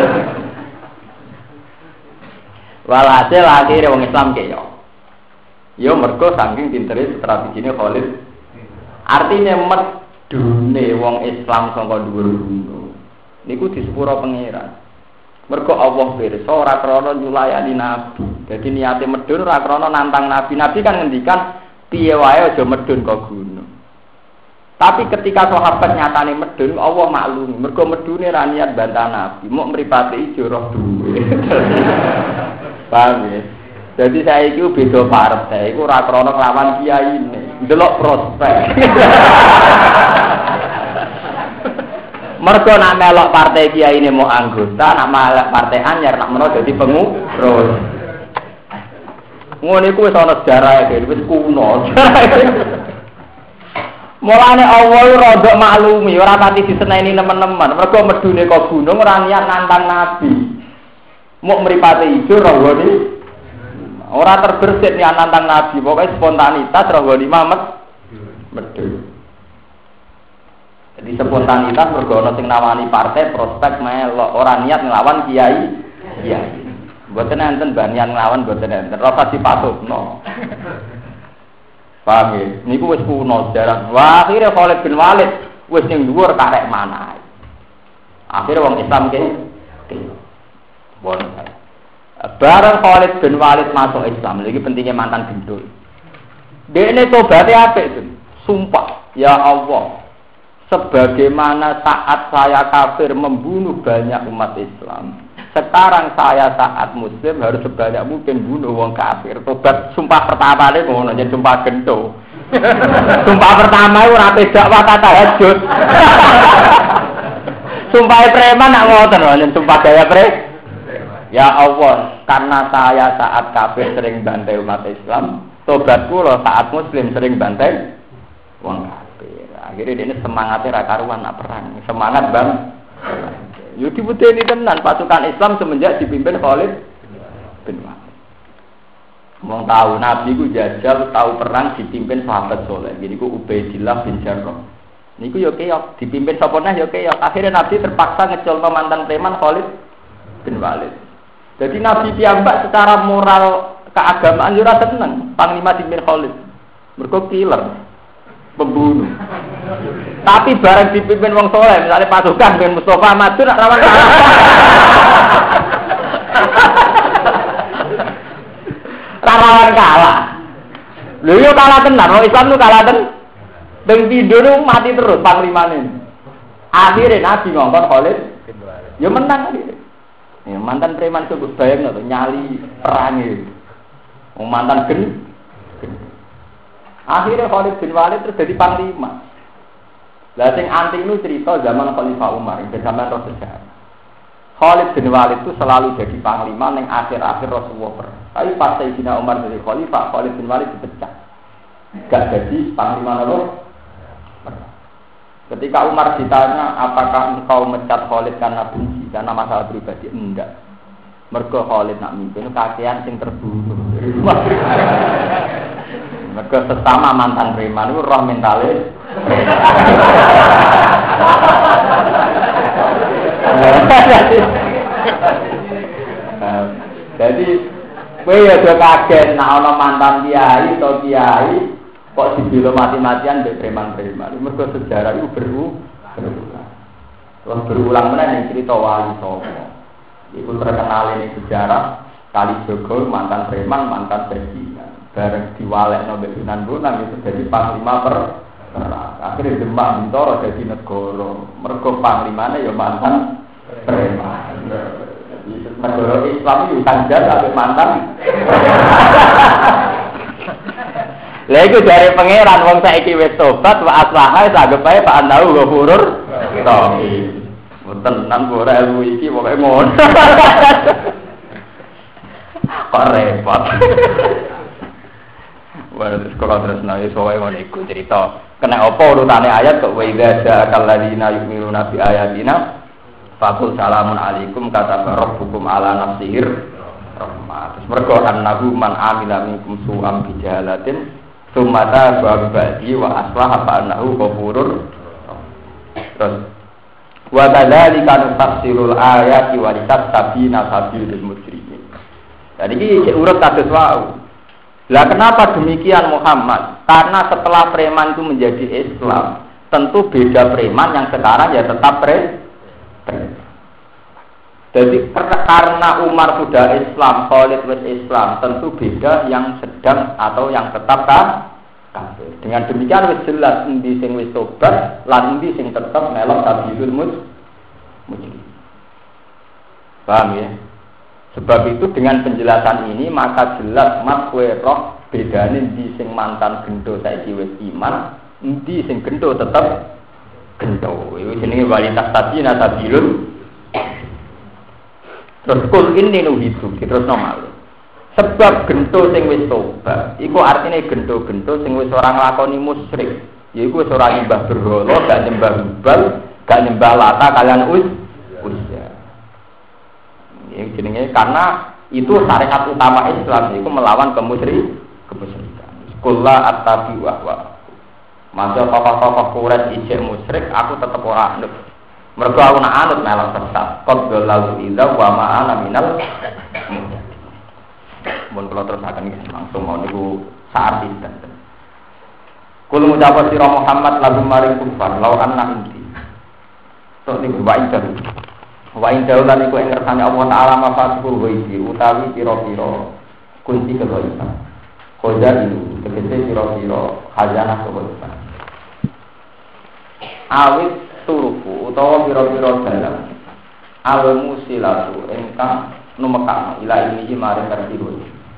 Walhasil akhire wong Islam keyo. Ya mergo saking pintere strategine Khalid. Artinya medune wong Islam saka dhuwur gunung. Niku disepuro pangeran. Mergo Allah pirsa ora krana nyulayani nabi. Dadi niate medun ora krana nantang nabi. Nabi kan ngendikan piye wae aja medun ke gunung. Tapi ketika sahabat nyatane medun, Allah maklumi. Mergo medune ra niat bantah nabi, mok mripate ijo roh duwe. Paham ya? Jadi saya itu beda partai, itu ora krana nglawan kiyaine, ndelok prospek. Mergo nak melok partai kiai ini mau anggota, nak melok partai anyar nak menawa dadi pengurus. Ngono iku wis ana sejarah iki, wis kuno. Mulane Allah rodok maklumi, ora pati diseneni teman-teman. Mergo medune kok gunung ora niat nantang nabi. Muk mripate ijo rohone. Ora terbersit niat nantang nabi, pokoke spontanitas rohone medun. Jadi spontanitas mergo ana sing nawani partai prospek melok ora niat nglawan kiai. Mboten enten banian nglawan mboten enten. Rasa dipatutno. Paham ya? Niku wis kuno sejarah. Wah, akhire Khalid bin Walid wis ning dhuwur karek manahe. Akhire wong Islam ke bon. Bareng Khalid bin Walid masuk Islam, iki pentingnya mantan gendul. Dekne tobaté apik, sumpah, ya Allah. Sebagaimana saat saya kafir membunuh banyak umat Islam, sekarang saya saat Muslim harus sebanyak mungkin bunuh wong kafir. Tobat sumpah pertama ini ngono yen sumpah gento. Sumpah pertama itu ora pedak wae tahajud. Sumpah preman nak ngoten lho yen sumpah gaya Ya Allah, karena saya saat kafir sering bantai umat Islam, tobatku lho saat Muslim sering bantai wong kafir. Akhirnya ini semangatnya karuan nak perang. Semangat bang. Yudi putih ini tenan pasukan Islam semenjak dipimpin Khalid bin Walid. Mau tahu Nabi ku jajal tahu perang dipimpin sahabat soleh. Gini ku Ubaidillah bin Jarrah. Niku yo keok dipimpin sapa neh yo keok. Akhirnya Nabi terpaksa ngecol mantan preman Khalid bin Walid. Jadi Nabi piyambak secara moral keagamaan yo ora seneng panglima dipimpin Khalid. Mergo killer. Pembunuh. Tapi barang dipimpin wong soleh, misalnya pasukan dengan Mustafa maju nak rawan kalah. Rawan kalah. Lho yo kalah tenan, wong Islam nu kalah tenan. Deng pindho nu mati terus panglimane. Akhirnya Nabi ngongkon Khalid, yo menang akhirnya. Ya mantan preman sebut bayang to nyali perange. Wong mantan Akhirnya Khalid bin Walid terus jadi panglima. Lah sing anti itu cerita zaman Khalifah Umar, zaman roh sejarah. Khalid bin Walid itu selalu jadi panglima ning akhir-akhir Rasulullah perang. Tapi pas Sayyidina Umar jadi khalifah, Khalid bin Walid dipecat. Gak jadi panglima lho. Ketika Umar ditanya, apakah engkau mecat Khalid karena benci, karena masalah pribadi? Enggak. Mergo Khalid nak mimpin kakean sing terbunuh. Mergo sesama mantan preman itu roh mentalis. Jadi kowe ya do kaget nek ana mantan kiai atau kiai kok dibela mati-matian mbek preman-preman. Mergo sejarah itu berulang meneh ning cerita wali sapa. Iku terkenal ini sejarah Kali Jogo mantan preman, mantan bajingan. Bareng diwalekno mbek Sunan Bonang itu jadi panglima perang. Akhirnya Demak Bintoro jadi negara. Mergo panglimane ya mantan preman. Negara Islam itu kanjar sampai mantan. Lha iku jare pangeran wong saiki wis tobat wa aslaha sagep ae Pak Anau ghafurur rahim. Mboten nang ora ilmu iki pokoke ngono. Kok repot. Wala sekolah terus naik soai ngono iku cerita. Kena apa urutane ayat kok wa idza ja'akal ladina yu'minuna bi ayatina faqul salamun alaikum kata rabbukum ala nafsihir rahmah. Terus mergo annahu man amila minkum su'am bi jahalatin sumata ba'di wa aslaha fa annahu ghafurur. Terus wa kadzalika nufassilul ayati wa litastabina sabilul mujrimin. Jadi iki urut kados wae. Lah kenapa demikian Muhammad? Karena setelah preman itu menjadi Islam, tentu beda preman yang sekarang ya tetap preman. Jadi karena Umar sudah Islam, Khalid wis Islam, tentu beda yang sedang atau yang tetap kafir. Dengan demikian wis jelas endi sing wis tobat, lan endi sing tetap melok tabilul mujrim. Paham ya? Sebab itu dengan penjelasan ini maka jelas mas kowe roh bedane endi sing mantan gendo saiki wis iman, endi sing gendo tetep gendo. Iku jenenge walitas tabiina tabilun. Terus kul ini nuhidu terus normal. Sebab gendo sing wis tobat, iku artine gendo-gendo sing wis ora nglakoni musyrik. Yaiku wis ora nyembah berhala, gak nyembah hubal, gak nyembah lata kalian Uzza. Yang jenenge karena itu syariat utama Islam itu melawan kemusyrikan. Kullu attabi wa masa tokoh-tokoh Quraisy ijek musyrik aku tetep ora anut. Mergo aku nak anut melok sesat. Qad lalu idza wa ma ana minal mun kula terusaken langsung mau niku saat itu. Kul ngucap sira Muhammad lagu maring kufar law anna inti. Tok niku wae wa indahu lan iku ing ngersane Allah taala mafatuhu ghaibi utawi pira-pira kunci kegaiban. Koja itu tegese pira-pira khazanah kegaiban. Awit turuku utawa pira-pira dalam almu silatu ingkang numekakno ila ini maring kertiru.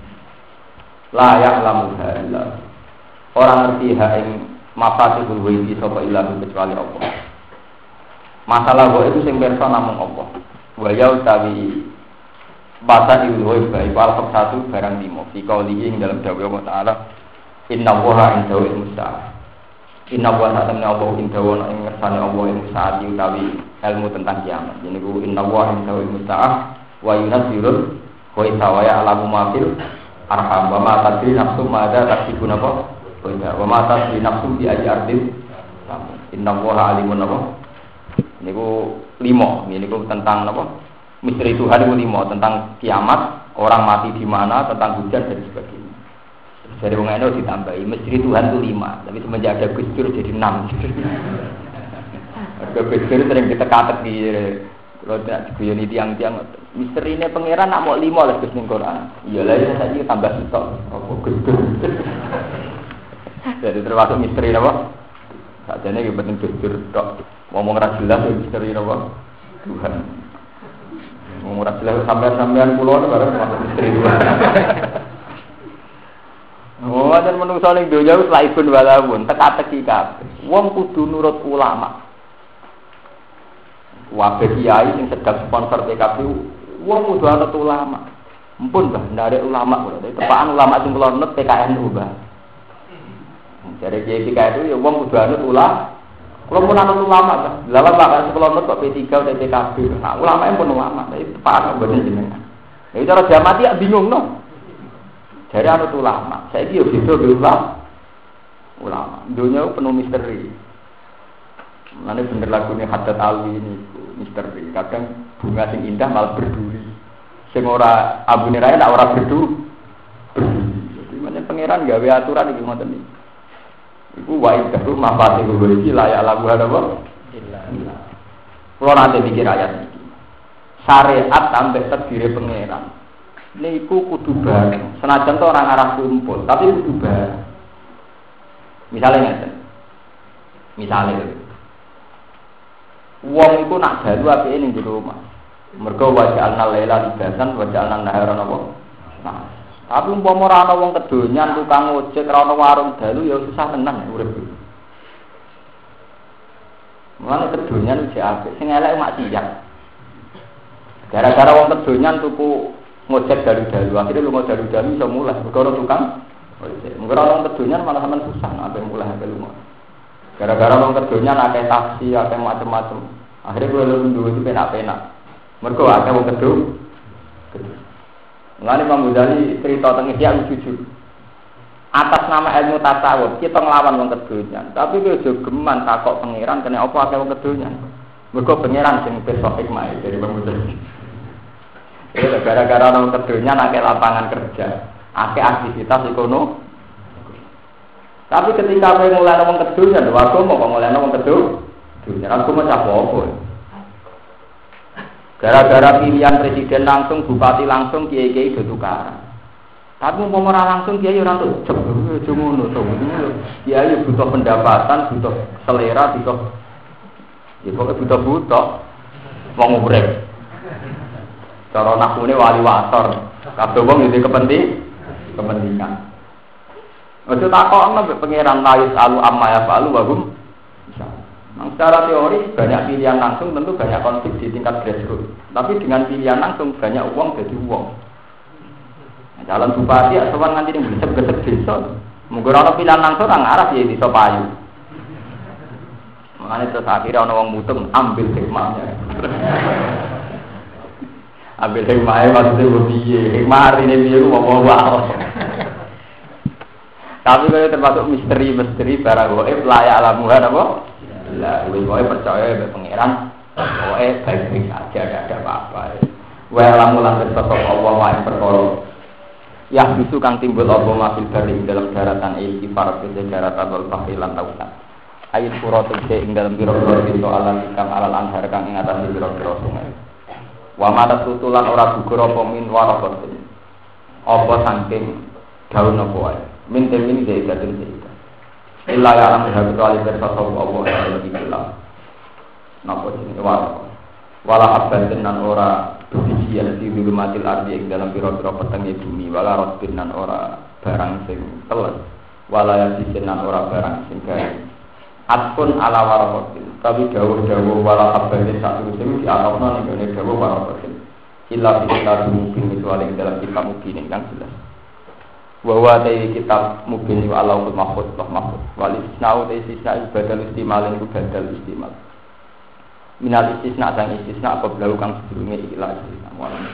La ya'lamu illa ora ngerti ha ing mafatuhu ghaibi sapa ilahu kecuali Allah. Masalah itu sing pirsa namung apa? Wa ya utawi basa ilmu baik al satu barang limo. Jika ing dalam dawuh Allah Taala, Inna Allaha indahu ilmus-sa'ah. Inna Allaha ta'ala Allah indahu ing ngersane Allah ilmus-sa'ah utawi ilmu tentang kiamat. Niku Inna Allaha indahu ilmus-sa'ah wa yunazzilul ghaitha wa ya'lamu ma fil arham wa ma tadri nafsum ma ada taksibun apa? Wa ma tadri nafsum bi ayyi ardin. Inna Allaha alimun apa? Niku 5, niku tentang apa? Misteri Tuhan niku 5 tentang kiamat, orang mati di mana, tentang hujan dan sebagainya. Dari wong eno ditambahi misteri Tuhan itu 5, tapi semenjak ada Gus Dur jadi 6. Gus Dur sering diteka-teki kalau tidak diguyoni tiang-tiang misterinya pangeran nak mau 5 lah Gus ning Quran. Iyalah ya saiki tambah sitok. Apa Gus Dur. Jadi termasuk misteri apa? Sakjane iki penting Gus Dur tok. Ngomong ra jelas misteri apa? Tuhan. Ngomong ra jelas sampean kula bareng masuk misteri Tuhan. Oh, dan menungso ning donya wis laibun walawun, teka-teki kabeh. Wong kudu nurut ulama. Wae kiai sing sedang sponsor PKB, wong kudu anut ulama. Mumpun Mbah, ndarek ulama kula. Tepakan ulama sing kula nut PKNU, Mbah. Jare kiai itu ya wong kudu anut ulama. Kalau pun anut ulama, lawan bahkan sebelum nut kok P3 dan PKB, nah ulama yang pun ulama, itu parah bener jenengan. Jadi cara jamati ya bingung no. Jadi anut ulama, saya dia bisa ulama. Dunia penuh misteri. Nanti bener lagunya Haddad Alwi ini misteri. Kadang bunga sing indah malah berduri. Sing ora abune rae nak ora berduri. Jadi mana pangeran gawe aturan iki ngoten iki. Iku wae karo mafate kuwi iki layak lagu apa? Illa. Kulo nanti pikir ayat iki. Syariat sampai terdiri pangeran. niku kudu bareng. Senajan to orang arah kumpul, tapi kudu bareng. Misalnya wong iku nak dalu apike ning jero omah. Mergo waja'alna laila libasan waja'alna nahara napa? Nah, tapi umpama ora ana wong kedonyan tukang ojek ora ana warung dalu ya susah tenan urip. Mulane kedonyan iki apik, sing elek maksiat. Gara-gara wong kedonyan tuku ngojek dalu-dalu, akhirnya lunga dalu-dalu iso mulai perkara tukang ojek. Mengko wong kedonyan malah sampean susah nek mulai sampe lunga. Gara-gara wong kedonyan akeh taksi, akeh macam-macam. Akhirnya gue lu itu penak-penak. Mergo akeh wong kedonyan. Mulane Imam Ghazali cerita teng Ihya jujur. Atas nama ilmu tasawuf kita nglawan wong kedonyan, tapi kowe aja geman takok pangeran kene apa akeh wong kedonyan. Mergo pangeran sing besok hikmah dari Imam Ghazali. Gara-gara wong kedonyan akeh lapangan kerja, akeh aktivitas ekonomi. Tapi ketika kowe mulai wong kedonyan, lho aku mau kok mulai wong kedonyan, aku mau apa-apa. Gara-gara pilihan presiden langsung, bupati langsung, kiai-kiai do tukaran. Tapi umpama ora langsung kiai ora entuk jeb ngono to. Kiai butuh pendapatan, butuh selera, butuh ya pokoke butuh wong urip. Cara nakune wali wator, kabeh wong iki kepentingan. Ojo takokno mbek pangeran layus alu amma ya falu wa hum. Nah, secara teori banyak pilihan langsung tentu banyak konflik di tingkat grassroots. Tapi dengan pilihan langsung banyak uang jadi uang. Calon bupati ya sowan nganti ning gesek-gesek desa. Mungkin ana pilihan langsung orang arah ya desa payu. Makane terus akhirnya ana wong mutung ambil hikmahnya. Ambil hikmahnya maksudnya piye? Hikmah artine piye ku apa-apa. Tapi kalau termasuk misteri barang goib layak alamuhan apa? Lah, goib percaya be pangeran. Goib baik-baik saja, tidak ada apa-apa. Wa alamulan bersosok Allah wa yang perkara. Ya bisu kang timbul apa mafil bari dalam daratan iltifar ke daratan wal bahri lan tautan. Ayat surat ing dalam pira-pira pintu alam kang alal anhar kang ing atas pira-pira sungai. Wa mata tutulan ora gugur apa min warabatin. Apa saking daun apa wae. Min temin zaidatun zaidat. Illa ya alam kecuali bersosok Allah yang lebih jelas. Napa jenenge wala abdan nan ora bisian di dulumatil ardi ing dalam pira-pira petenge bumi wala rotbin nan ora barang sing teles wala yasin nan ora barang sing gawe atpun ala warabatin tapi dawuh-dawuh wala abdan satu sing diarepno ning ngene dawuh warabatin illa kita mungkin kecuali ing dalam kitab mungkin kan jelas bahwa dari kitab mungkin wa Allahul mahfuz wal isna'u dari sisa badal istimal iku badal istimal minal istisna sang istisna apa blau kang sedurunge ikhlas amono.